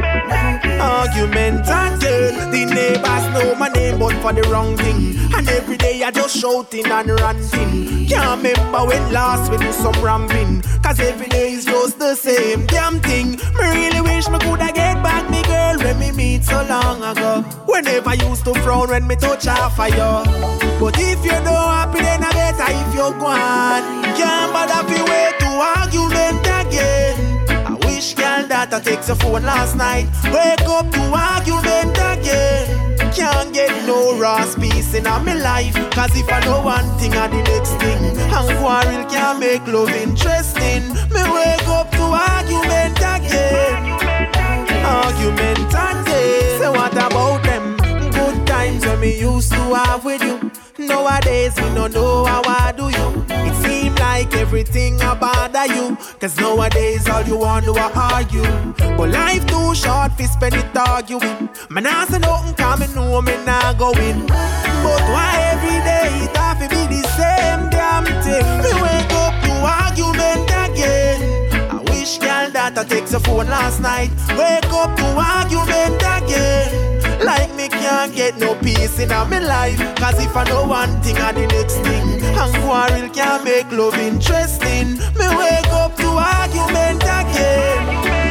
S8: The neighbors know my name but for the wrong thing. And every day I just shouting and ranting. Can't remember when last we do some ramping. Cause every day is just the same damn thing. Me really wish me coulda get back me girl when me meet so long ago. Whenever I used to frown when me touch half of you. But if you're not happy then I better if you're gone. Can't bother fi wait to argument again. Girl that I take the phone last night. Wake up to argument again. Can't get no Ross peace in my life. Cause if I know one thing or the next thing, and quarrel can't make love interesting. Me wake up to argument again. So what about them good times when me used to have with you? Nowadays we don't know how I do you. It seems like everything I bother you. Cause nowadays all you want to argue. But life too short for spend it arguing. Man I say nothing cause me know me not going. But why every day it have to be the same damn thing? Me wake up to argument again. I wish girl that I take the phone last night. Wake up to argument again. Like me can't get no peace in my life. Cause if I know one thing or the next thing,
S22: And quarrel can make love interesting. Me wake up to argument again.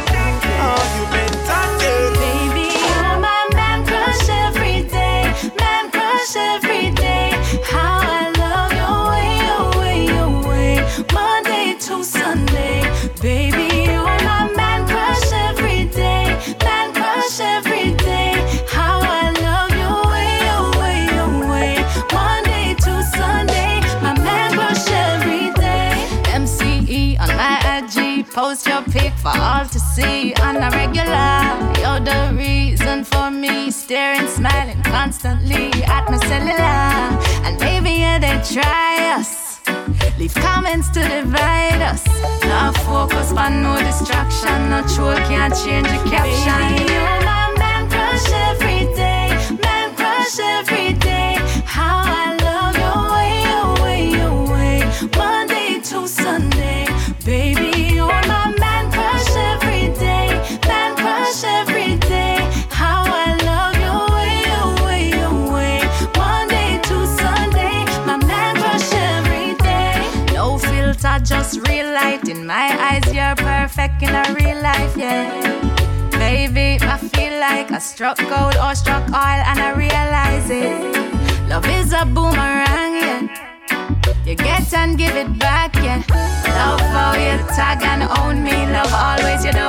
S22: Argument again.
S19: Baby, you're my man crush every day. Man crush every day. How I love your way, your way, your way. Monday to Sunday. Baby, you're my man crush every day. Man crush every day. How I love your way, your way, your way. Monday to Sunday. My man crush every day. MCE on my IG. Post your pic for all to see on a regular. You're the reason for me staring, smiling constantly at my cellular. And baby, yeah, they try us. Leave comments to divide us. No focus on no distraction. No troll can't change the caption. Baby, you're my man crush every day. Man crush every day. How I love your way, your way, your way. Monday to Sunday. Baby, you're my man crush every day. Man crush every day. How I love your way, your way, your way. Monday to Sunday. My man crush every day. No filter, just real light. In my eyes, you're perfect in a real life, yeah. Baby, I feel like I struck gold or struck oil and I realize it. Love is a boomerang, yeah. You get and give it back, yeah. Love how you tag and own me. Love always your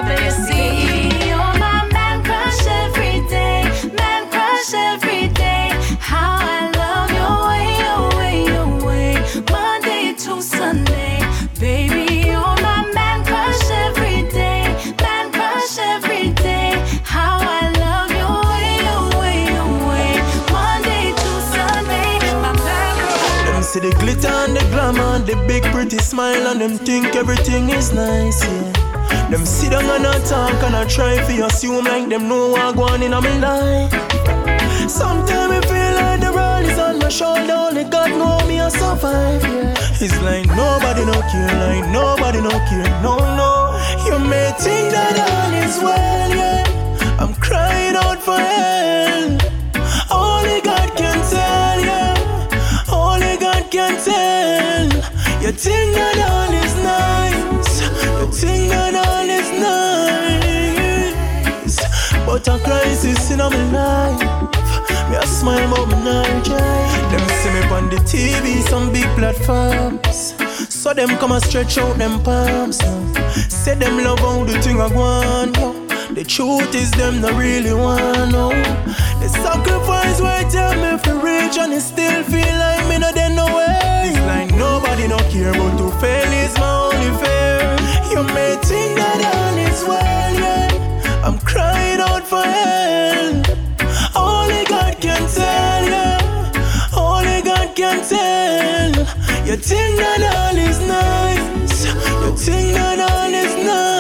S19: WC. You're my man crush every day. Man crush every day. How I love your way, your way, your way. Monday to Sunday. Baby, you're my man crush every day. Man crush every day. How I love your way, your way, your way. Monday to Sunday. My man crush.
S22: Them see the glitter and the glamour, the big pretty smile, and them think everything is nice, yeah. Them sit down and I talk and I try to assume like them know what going in my life. Sometimes I feel like the world is on my shoulder, only God know me I survive, yeah. It's like nobody no care, like nobody no care, no, no. You may think that all is well, yeah. I'm crying out for help. Only God can tell, yeah. Only God can tell. You think that all is nice. You think that all is nice. But a crisis in my life. Me a smile but me not cry. Them see me on the TV, some big platforms. So them come and stretch out them palms. Say them love how the thing I want, yo. The truth is them not really want, no. The sacrifice why tell me for rich and it still feel like me not there no way. It's like nobody no care but to fail is my only fear. You may think that all is well, yeah. I'm crying out for help. Only God can tell, yeah. Only God can tell. You think that all is nice. You think that all is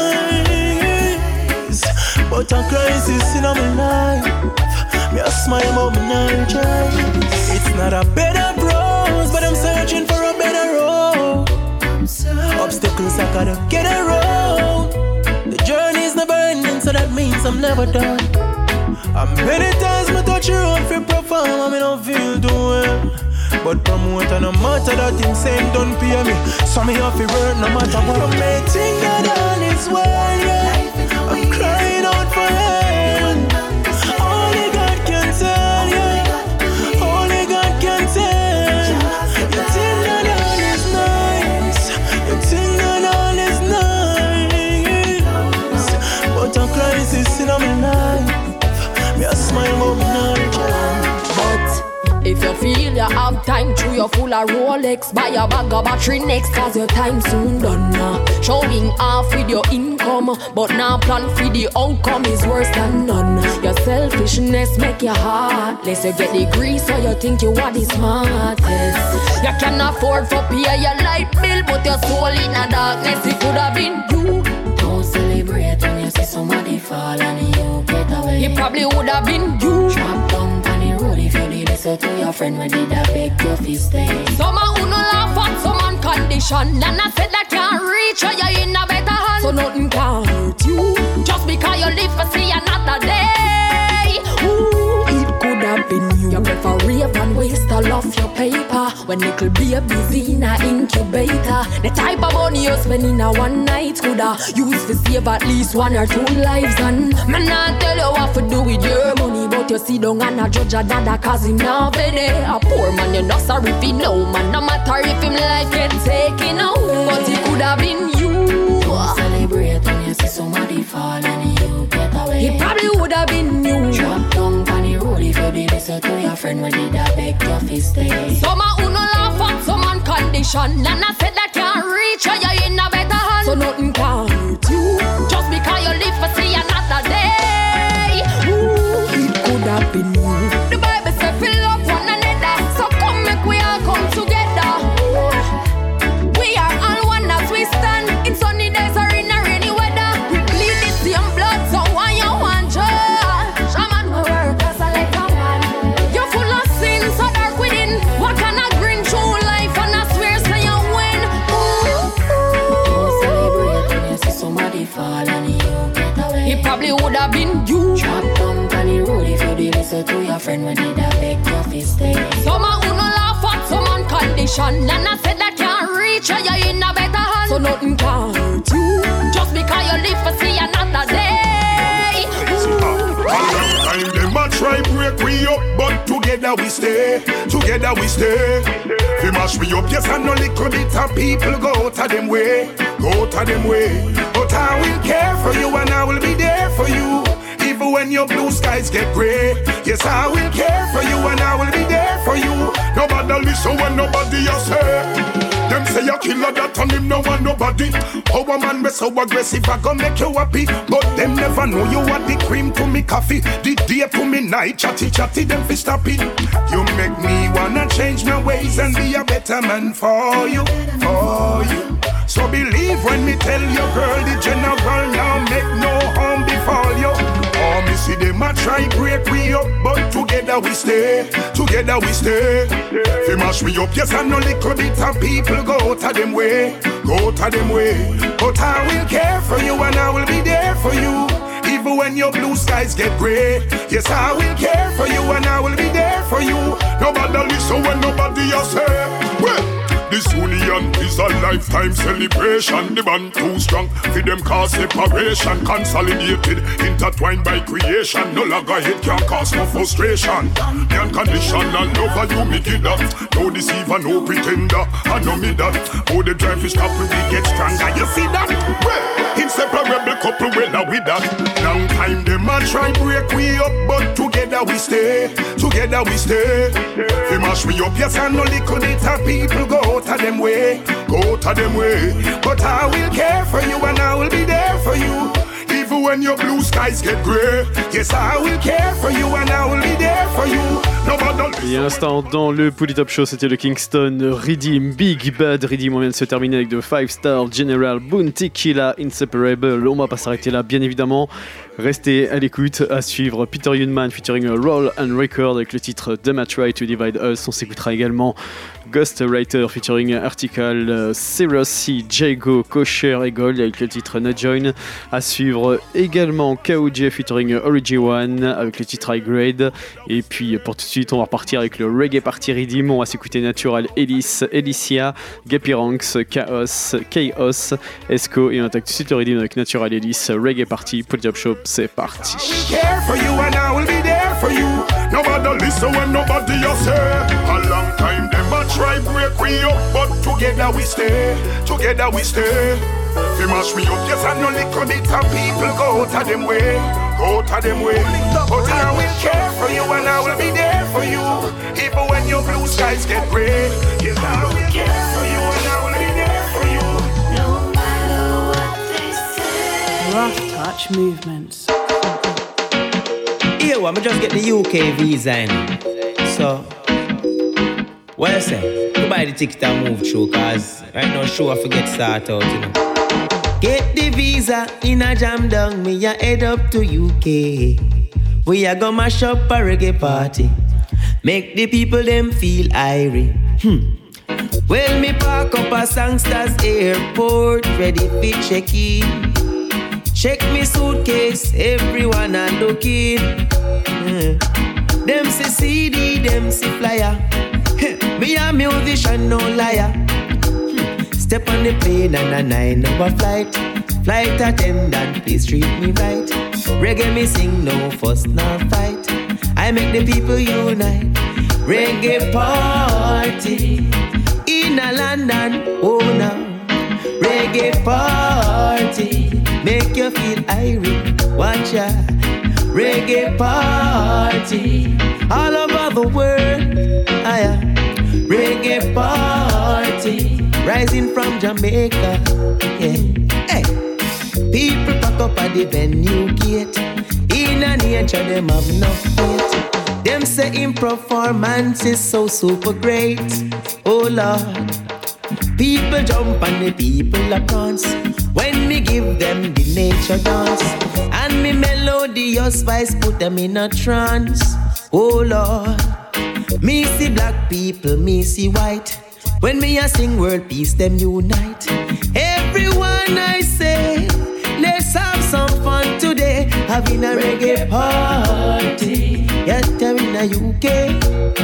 S22: nice. But a crisis in my life. Me a smile but me not try. It's not a better rose, but I'm searching for a better road. Obstacles I gotta get around. The journey's never ending, so that means I'm never done. And many times me touch your own for perform and me don't feel too well. But promote and no matter that thing saying don't pay me. So me have to work no matter what. You may think that all is well, yeah. I'm crying out for help. Only God can tell, yeah. Only God can tell. You think that all is nice. You think that all is nice. But a crisis in my life. Me a smile but me not cry.
S14: But if you feel you have time through your full of Rolex, buy a bag of battery next, cause your time soon done now. Showing off with your income, but now plan for the outcome is worse than none. Your selfishness make you heartless. You get the grease so you think you are the smartest. You can afford for pay your light bill, but your soul in the darkness, it could have been you. Don't celebrate when you see somebody fall and you get away. It probably would have been you. Drop down on the road if you did listen to your friend when did I beg your fist stay. Some who no laugh at some condition, and I said that can't reach or you're in a better hand. So nothing can hurt you just because you live to see another day. Ooh, it could have been you. You prefer rave and waste all of your paper. When little babies in a incubator. The type of money you spend in a one night coulda use to save at least 1 or 2 lives. And man not tell you what to do with your money, but you sit down and a judge a dada cause him not pay. A poor man you not sorry if he know man. No matter if him life get taken away, but it could have been you.
S13: Don't celebrate when you see somebody fall and you get away.
S14: It probably would have been you.
S13: Drop down on the road if you did listen to your friend when did I beg your fist stay.
S14: Some who no laugh at some man condition, and I said that can't reach you, you're in a better hand. So nothing can hurt you, just because you live for see another day. Ooh, it could have been you. The Bible says fill up one another, so come make we all come together. We are all one as we stand, in sunny days or in a rainy weather. We bleed the same blood, so why you want judge? Shaman will work as a little man. You're full of sin, so dark within. What can I bring through life and I swear say you win?
S13: Don't celebrate when you see somebody fall and you get away.
S14: It probably would have been you.
S13: Drop down on the road if you did listen to your friend when did I beg your fist stay.
S14: Some who no laugh at some man condition, and I said that can't reach you, you're in a better hand. So nothing can hurt you, just because you live for see another day.
S1: Time them a try break we up, but together we stay. Together we stay. They mash me up, yes, and no little bit of people go out of them way. Go out of them way. But I will care for you and I will be there for you. Even when your blue skies get grey. Yes, I will care for you and I will be there for you. Nobody listen when nobody else say. Them say a killer that on him no want nobody. How a man be so aggressive I gon' make you happy. But them never know you are the cream to me coffee. The day to me night chatty chatty them fi stop it. You make me wanna change my ways and be a better man for you, for you. So believe when me tell you girl the general now make no harm befall you. Oh me see them a try break we up, but together we stay. Together we stay. Fi mash me up, yes, I know little bit of people go out of them way. Go out of them way. But I will care for you and I will be there for you. Even when your blue skies get grey. Yes, I will care for you and I will be there for you. Nobody listen when nobody else say. Well, this union is a lifetime celebration. The band too strong, for them cause separation. Consolidated, intertwined by creation. No longer hate can cause no frustration. The unconditional love you me give that. No deceiver, no pretender, I know me that. Oh, the drive is stop when we get stronger. You see that? Well, inseparable couple, well now with that. Long time them a try break we up, but together we stay. Together we stay. They mash me up, yes, I know little bit of people go out of them way, go out of them way. But I will care for you and I will be there for you. Even when your blue skies get grey. Yes, I will care for you and I will be there for you.
S5: Et à l'instant, dans le Polytop Show, c'était le Kingston Redeem, Big Bad Redeem. On vient de se terminer avec de 5 Star General, Bounty Killer, Inseparable. On va pas s'arrêter là, bien évidemment. Restez à l'écoute, à suivre Peter Youngman featuring Roll and Record avec le titre The Match Right to Divide Us. On s'écoutera également Ghostwriter featuring Article, Cyrus C, Jago, Kosher et Gold avec le titre Not Join. À suivre également KOJ featuring Origi One avec le titre High Grade. Et puis pour tout de suite, on va repartir avec le Reggae Party Redeem. On va s'écouter Natural Ellis, Elicia, Gappy Ranks, Chaos, Esco. Et on attaque tout de suite le Redeem avec Natural Ellis, Reggae Party, Polytop Show. C'est parti.
S1: Care for you and I will be there for you. Nobody listen when nobody else say. A long time them a try break we up, but together we stay. Together we stay. They mash me up, yes, I know little bit of people go out of them way. Go out of them way. But I will care for you and I will be there for you. Even when your blue skies get grey. Yes, I will care for you and I will be there for you.
S19: No matter what they say.
S15: Rough touch movements.
S17: Yeah, well, I just get the UK visa in. So, what I say? To buy the ticket and move through, cause right now show I forget start out, you know. Get the visa in a jam down, me a head up to UK. We a go mash up a reggae party. Make the people them feel irie. Well, me park up a Sangsters airport, ready for check-in. Check me suitcase, everyone a looking. Them say CD, them say flyer. Me a musician, no liar. Step on the plane and a 9-hour flight. Flight attendant, please treat me right. Reggae me sing, no fuss, no fight. I make the people unite. Reggae party in a London, oh no. Reggae party make you feel irate. Watch ya. Reggae party all over the world. Reggae party rising from Jamaica. Yeah. Hey. People pack up at the venue gate. In a nature them have no faith. Them say in performance is so super great. Oh Lord. People jump and the people a dance when me give them the nature dance. And me melodious voice put them in a trance. Oh Lord. Me see black people, me see white. When me a sing world peace, them unite. Everyone I say, let's have some fun today. Having a reggae party. Yes, they're in the UK.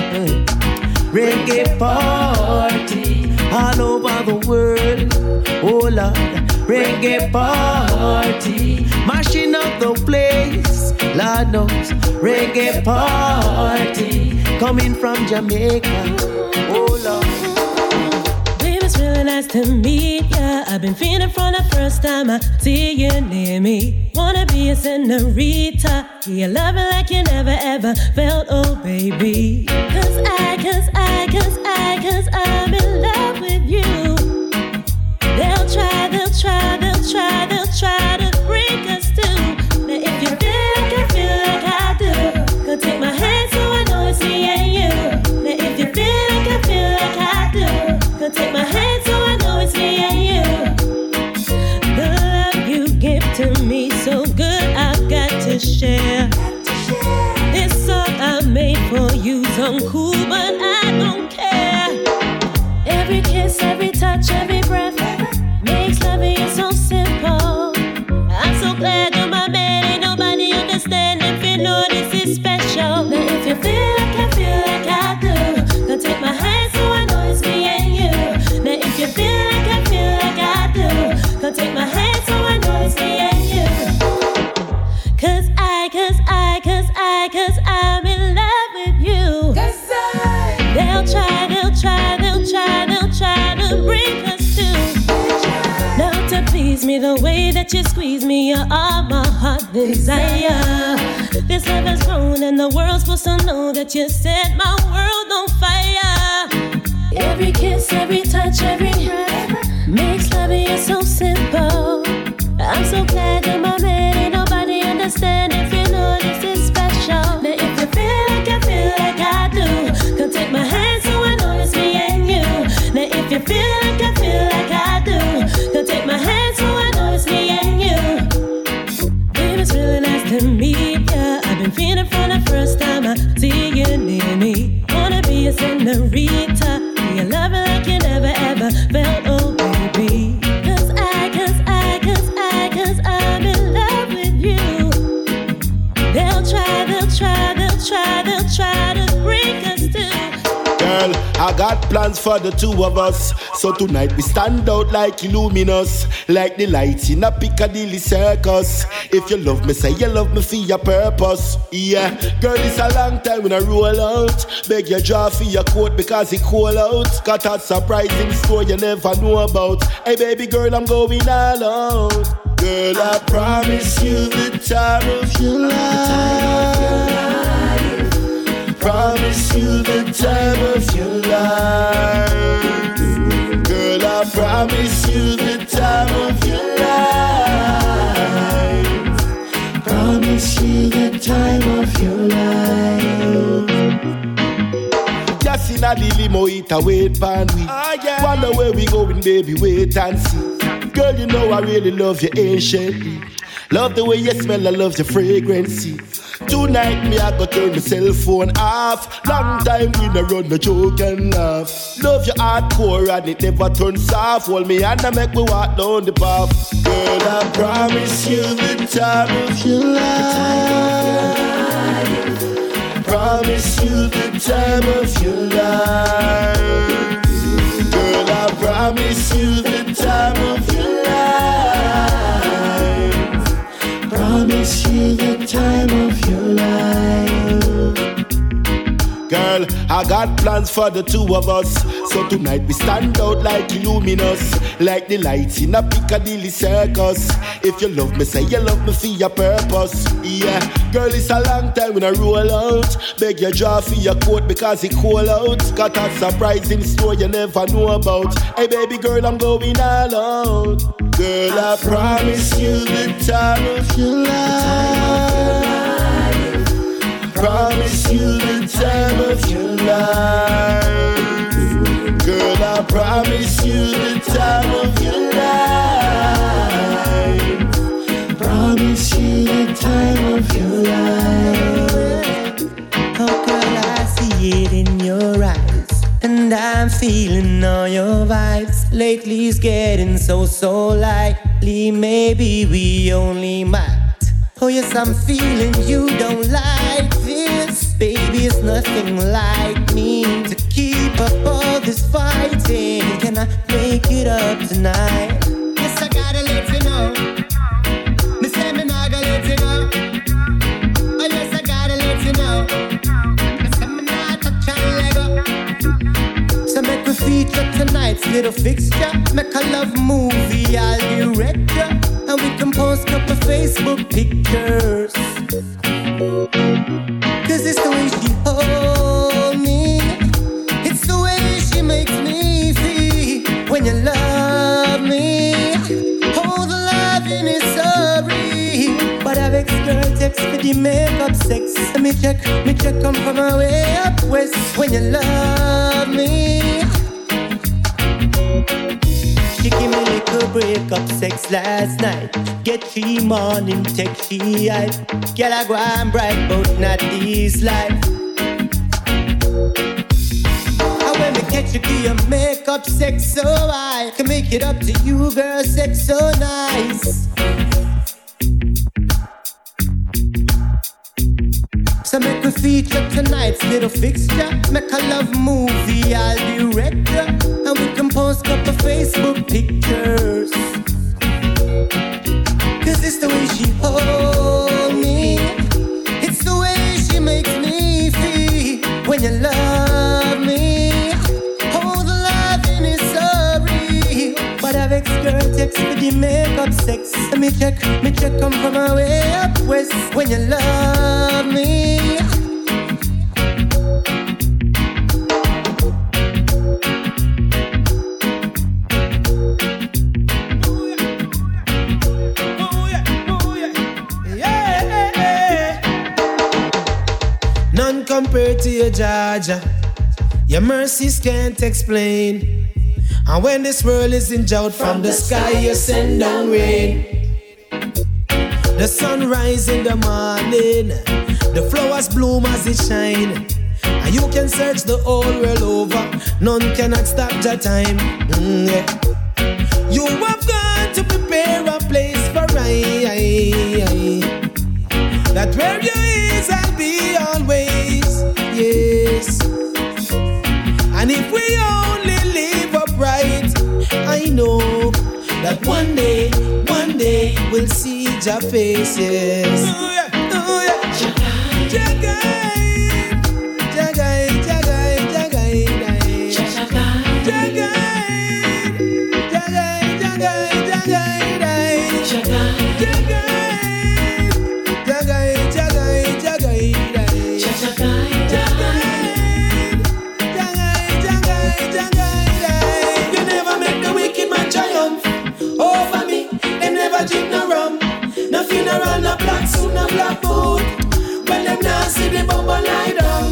S17: Reggae party all over the world. Oh Lord, reggae party mashing up the place. Lord knows, reggae party coming from Jamaica. Oh Lord.
S12: Baby, it's really nice to meet ya. I've been feeling from the first time I see you near me. Wanna be a senorita. You love me like you never ever felt, oh baby. Cause I'm in love with you. They'll try to break us too. But if you feel like I feel like I do, go take my hand so I know it's me and you. But if you feel like I feel like I do, go take my hand so I know it's me and you. The love you give to me so good, I've got to share. This song I made for you, so cool, but I don't care. Every kiss, every touch, every breath makes loving you so simple. I'm so glad you're my man, ain't nobody understand if you know this is special. Now if you feel like I feel like I do, then take my hand so I know it's me and you. Now if you feel like I feel like I do, then take my hand so I know it's me and you. Cause I'm in love with you. They'll try to bring us to. Now to please me the way that you squeeze me, you're all my heart desire. This love has grown and the world's supposed to know that you set my world on fire. Every kiss, every touch, every breath makes loving you so simple. I'm so glad you're my man, ain't nobody understand if you know this is special. Now if you feel like I feel like I do, come take my hand so I know it's me and you. Now if you feel like I feel like I do, come take my hand so I know it's me and you. Baby, it's really nice to meet ya. I've been feeling from the first time I see you near me. Wanna be a senorita. You love me like you never ever felt, oh baby. Cause I'm in love with you. They'll try to break us too.
S23: Girl, I got plans for the two of us. So tonight we stand out like luminous, like the lights in a Piccadilly circus. If you love me, say you love me for your purpose. Yeah, girl, it's a long time when I roll out. Beg you draw for your coat because it cold out. Got a surprising store you never know about. Hey baby girl, I'm going all out. Girl, I promise you the time of your life. Promise you the time of your life. Girl, I promise you the time of your life. Promise you the time of your life. Just in a limo, it a wait pan we. Wonder where we going, baby, wait and see. Girl, you know I really love you anciently. Love the way you smell, I love your fragrance. Tonight me I go turn my cell phone off. Long time we no run no joke and laugh. Love your hardcore and it never turns off. Hold me hand and make me walk down the path. Girl, I promise you the time of your life. promise you the time of your life. Girl, I promise you the time of your life. Promise you the time of your life. Girl, I got plans for the two of us. So tonight we stand out like luminous, like the lights in a Piccadilly circus. If you love me, say you love me for your purpose. Yeah, girl, it's a long time when I roll out. Beg you draw for your coat because it cold out. Got a surprise in store you never know about. Hey baby girl, I'm going all out. Girl, I promise you the time of your life. Promise you the time of your life. Girl, I promise you the time of your life. Promise you the time of your life.
S17: Oh girl, I see it in your eyes, and I'm feeling all your vibes. Lately it's getting so lightly. Maybe we only might. Oh yes, I'm feeling you don't like this. Baby, it's nothing like me to keep up all this fighting. Can I make it up tonight? Yes, I gotta let you know. Me say me not gonna let you go. Oh yes, I gotta let you know. Me say me not touch and let go. So make we feature tonight's little fixture. Make a love movie, I'll direct ya. And we can post up a Facebook pictures. Cause it's the way she hold me. It's the way she makes me feel. When you love me, oh the loving is so real. But I've ex-girl text for the makeup sex. Let me check come from my way up west. When you love me, she give me little break-up sex last night. Get 3 morning text, she hype. Girl, I go and bright, but not this life. And when me catch you, give your makeup sex so high. Can make it up to you, girl, sex so nice. So make we feature tonight's little fixture. Make a love movie, I'll direct ya. And we can post up a Facebook pictures. Cause it's the way she hold me. It's the way she makes me feel. When you love me, oh the loving is so real. But I've ex-girl text for the makeup sex. Let me check come from my way up west. When you love me, compared to your Jaja, your mercies can't explain. And when this world is in drought, from the sky you send down rain. The sun rises in the morning, the flowers bloom as it shine. And you can search the whole world over, none cannot stop your time. Yeah. You have got to prepare a place for I. That where you is, I'll be always, yes. And if we only live upright, I know that one day we'll see your face, yes. Oh yeah, oh yeah. Jagai, jagai, jagai, jagai, jagai, jagai, jagai, jagai, jagai, jagai, jagai. No funeral, no black suit, no black boot. When them now see the bubble lie down.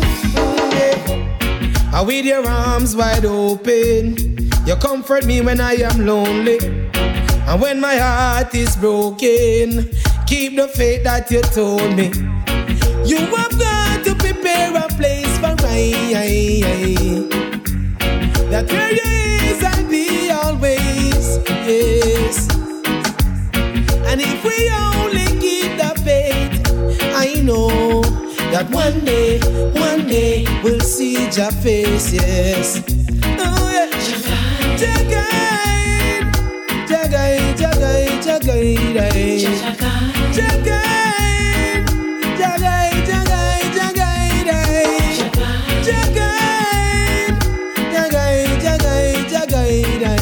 S17: And with your arms wide open, you comfort me when I am lonely. And when my heart is broken, keep the faith that you told me. You have got to prepare a place for I. That where you is, I'll be always, yes. And if we only keep the faith, I know
S8: that one day we'll see your face, yes. Oh yeah, Jah guide, Jah guide, Jah guide, Jah guide, Jah guide, Jah guide, Jah guide, Jah guide, Jah guide, Jah guide, Jah guide, Jah guide, Jah guide, Jah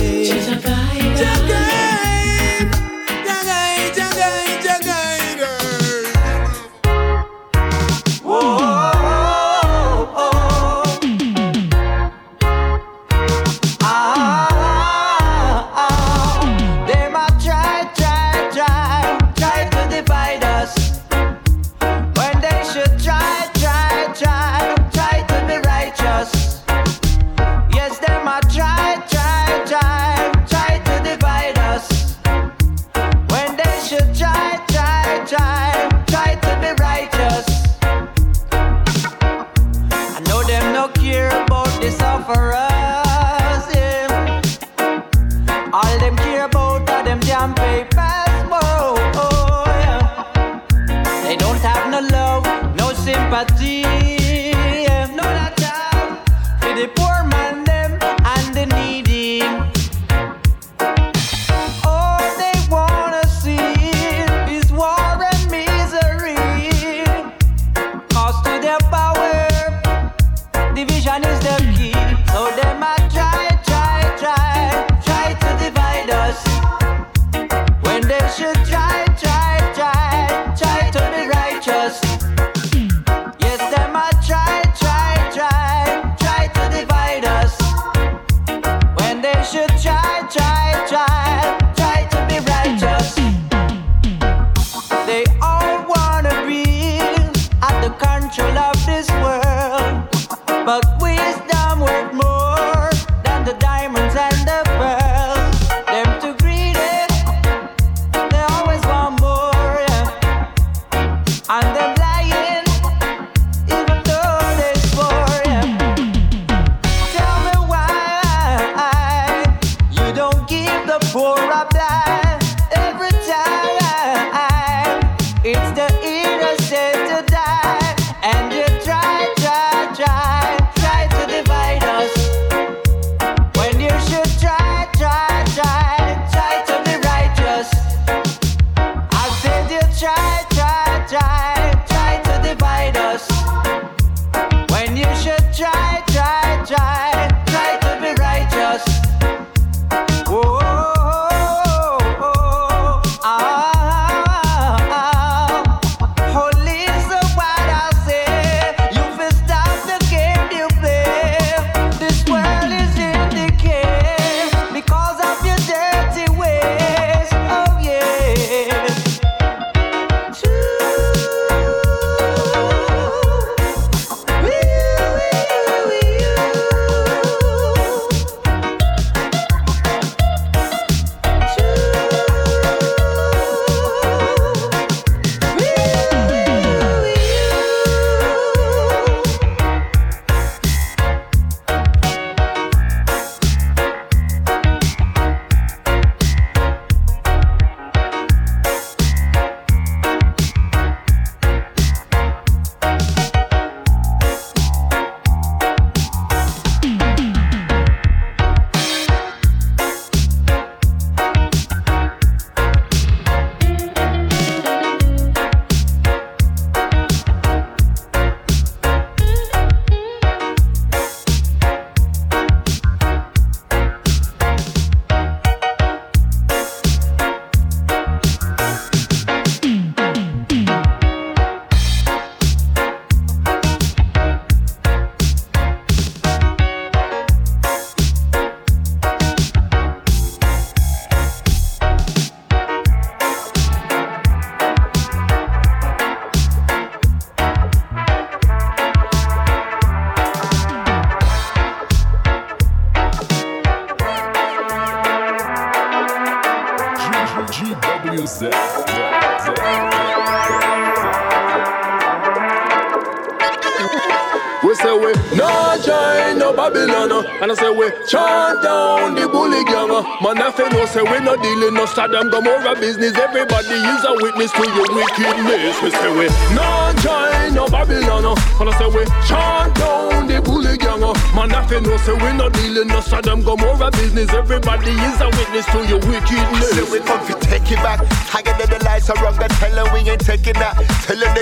S18: We say we no join no Babylon, and I say we chant down the bully gang. Man, I feel no say we no dealing no Sodom Gomorrah business. Everybody is a witness to your wickedness. We say we no join no Babylon, and I say we chant down the bully gang. Man, I feel no say we no dealing no Sodom Gomorrah business. Everybody is a witness to your wickedness.
S20: So we come to take it back. Higher than the lights are wrong. Tell them we ain't taking that. Tell a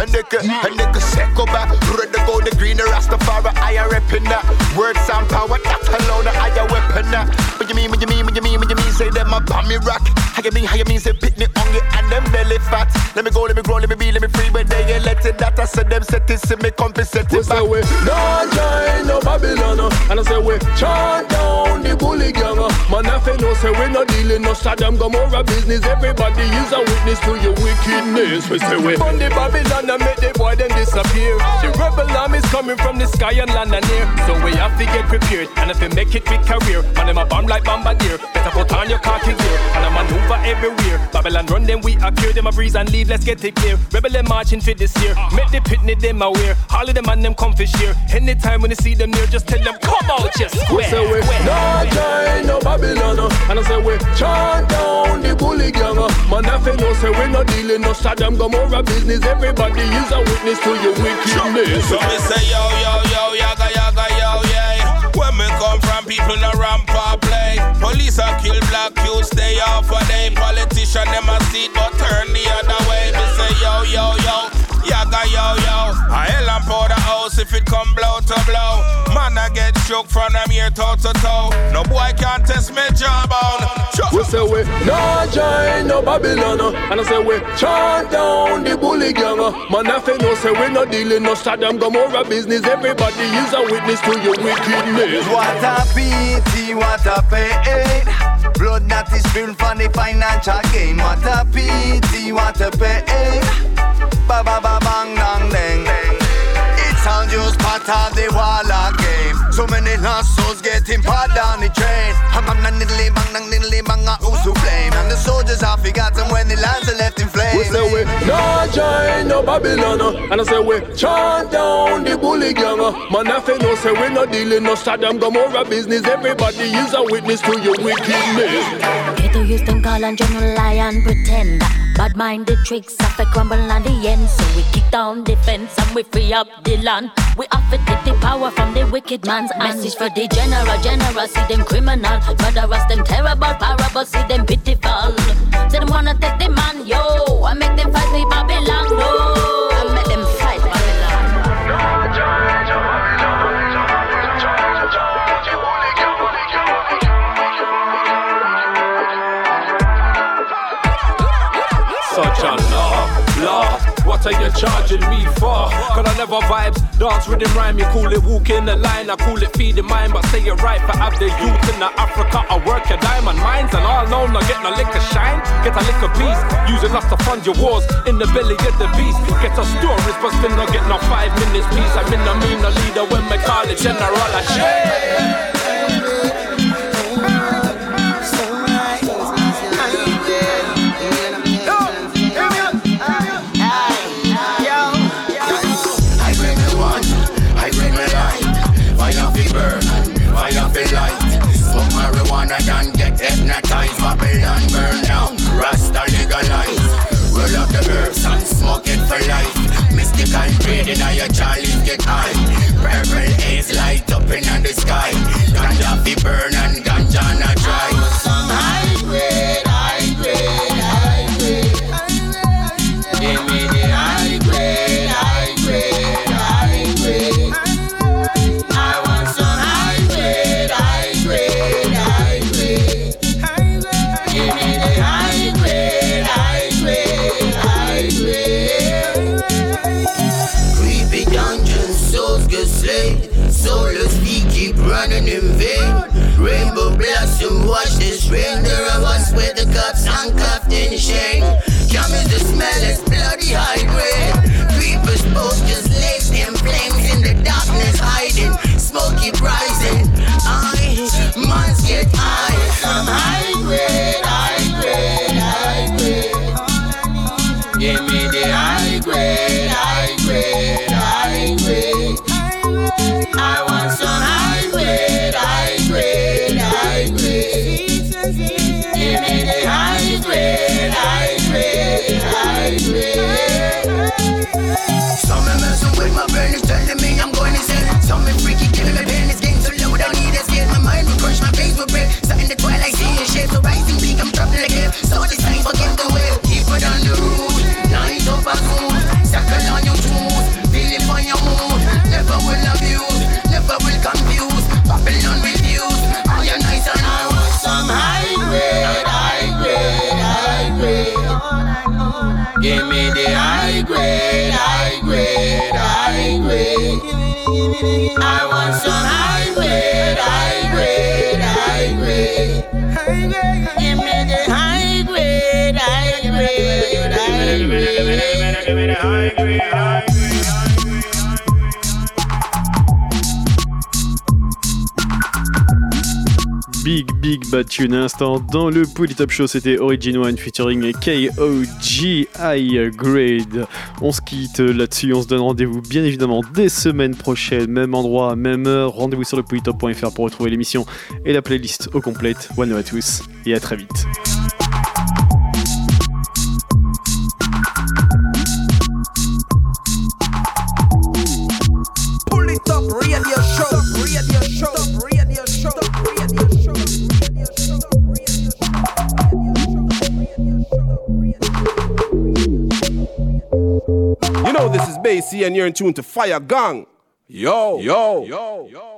S20: nigga, circle back. Red the gold, the green, the Rastafari. I am repping that. Words and power, that alone, I am weapon that. What you mean, say them a bomb me rock. How you mean, say pick me hungry and them belly fat. Let me go, let me grow, let me be, let me free. But they ain't let it that. I said them set it, see me compensate it back.
S18: We no join no Babylon, and I say we chant down the bully gang. Man, I feel no say we no dealing no Sodom Gomorrah business. Everybody is a witness to your wickedness. We say we on the Babylon and make the boy them disappear. The rebel army is coming from the sky and land and air. So we have to get prepared, and if we make it with career, man, them a bomb like bombardier. Better put on your khaki gear, and I maneuver everywhere. Babylon run them, we appear, them a breeze and leave, let's get it clear. Rebel them marching for this year, make the pitney them aware. All of them and them come for share. Anytime when you see them near, just tell them come out, just square. We say we no join no Babylon, and I say we chant down the bully gang. Man, I feel no say we no dealing no Sodom Gomorrah business. Everybody is a witness to your wickedness.
S21: So me say yo, yaga, yo, yeah. When me come from, people no ramp or play. Police a kill black youths, stay off a day. Politician them a seat but turn the other way. Me say yo, yaga, yo. A hell and pour the house if it come blow to blow. Man I get shook from them here toe to toe. No boy can't test me jawbone.
S18: We say we no join no Babylon, and I say we chant down the bully gang. Man, I feel no say we no dealing no Sodom Gomorrah business. Everybody is a witness to your wickedness.
S24: What a pity, what a pain. Blood that is spilled for the financial gain. What a pity, what a pain. Ba ba ba bang dang dang. It's all just part of the wall game. So many lost souls getting part down the train. Bang dang diddly bang dang diddly bang. Who's to blame? And the soldiers are forgotten when the lands are left in flames.
S18: We say we no join no Babylon, and I say we chant down the bully gang. Man, I feel no say we no dealing no Sodom Gomorrah business. Everybody is a witness to your wickedness.
S25: Ghetto used to call and general lie and pretend. Bad-minded tricks have to crumble on the end. So we kick down the fence and we free up the land. We have to take the power from the wicked man's hand. Message for the general, see them criminal. Murderers, them terrible, parable, see them pitiful. Say them wanna take the man, yo. I make them fight with Babylon, no. I make them fight Babylon.
S18: Such a law. What are you charging me for? Cause I never vibes, dance, rhythm, rhyme. You call it walking the line, I call it feed the mind. But say it right, for have the youth in the Africa. I work your diamond mines and all known, not get no liquor shine. Get a liquor piece, using us to fund your wars. In the belly of the beast, get a stories, but still not get no 5 minutes peace. I'm in the mean a leader when me call it general. I share.
S26: Smoke marijuana and get hypnotized. Babylon burn down, Rasta legalize. Roll up the herbs and smoke it for life. Mystical trading and your Charlies get high. Purple haze light up in the sky. Ganja fi burn and ganja na dry. Some high grade. Give me the high grade. I want some high grade. Give me the high grade. Creepy dungeons, souls get slain. Soulless feet keep running in vain. Rainbow blossom, watch this rain. There are us with the cups handcuffed in shame. Come is the smell, it's bloody high grade. Creepers both just lace in flames in the darkness hiding. Smoke keep rising. Months get high. Some high grade. Give me the high grade. Give me the high grade, high grade, high grade. I want some high grade, high grade, high grade. Give me the high grade, high grade, high grade. Give me the high grade, high grade.
S5: Big Bad Tune à l'instant dans le Polytop Show, c'était Origin One featuring KOG High Grade. On se quitte là-dessus, on se donne rendez-vous bien évidemment des semaines prochaines, même endroit, même heure. Rendez-vous sur le polytop.fr pour retrouver l'émission et la playlist au complète. One love à tous et à très vite.
S2: Polytop Radio Show, Radio Show, Radio Show, Radio Show.
S3: You know this is Basie and you're in tune to Fire Gang. Yo, yo, yo, yo.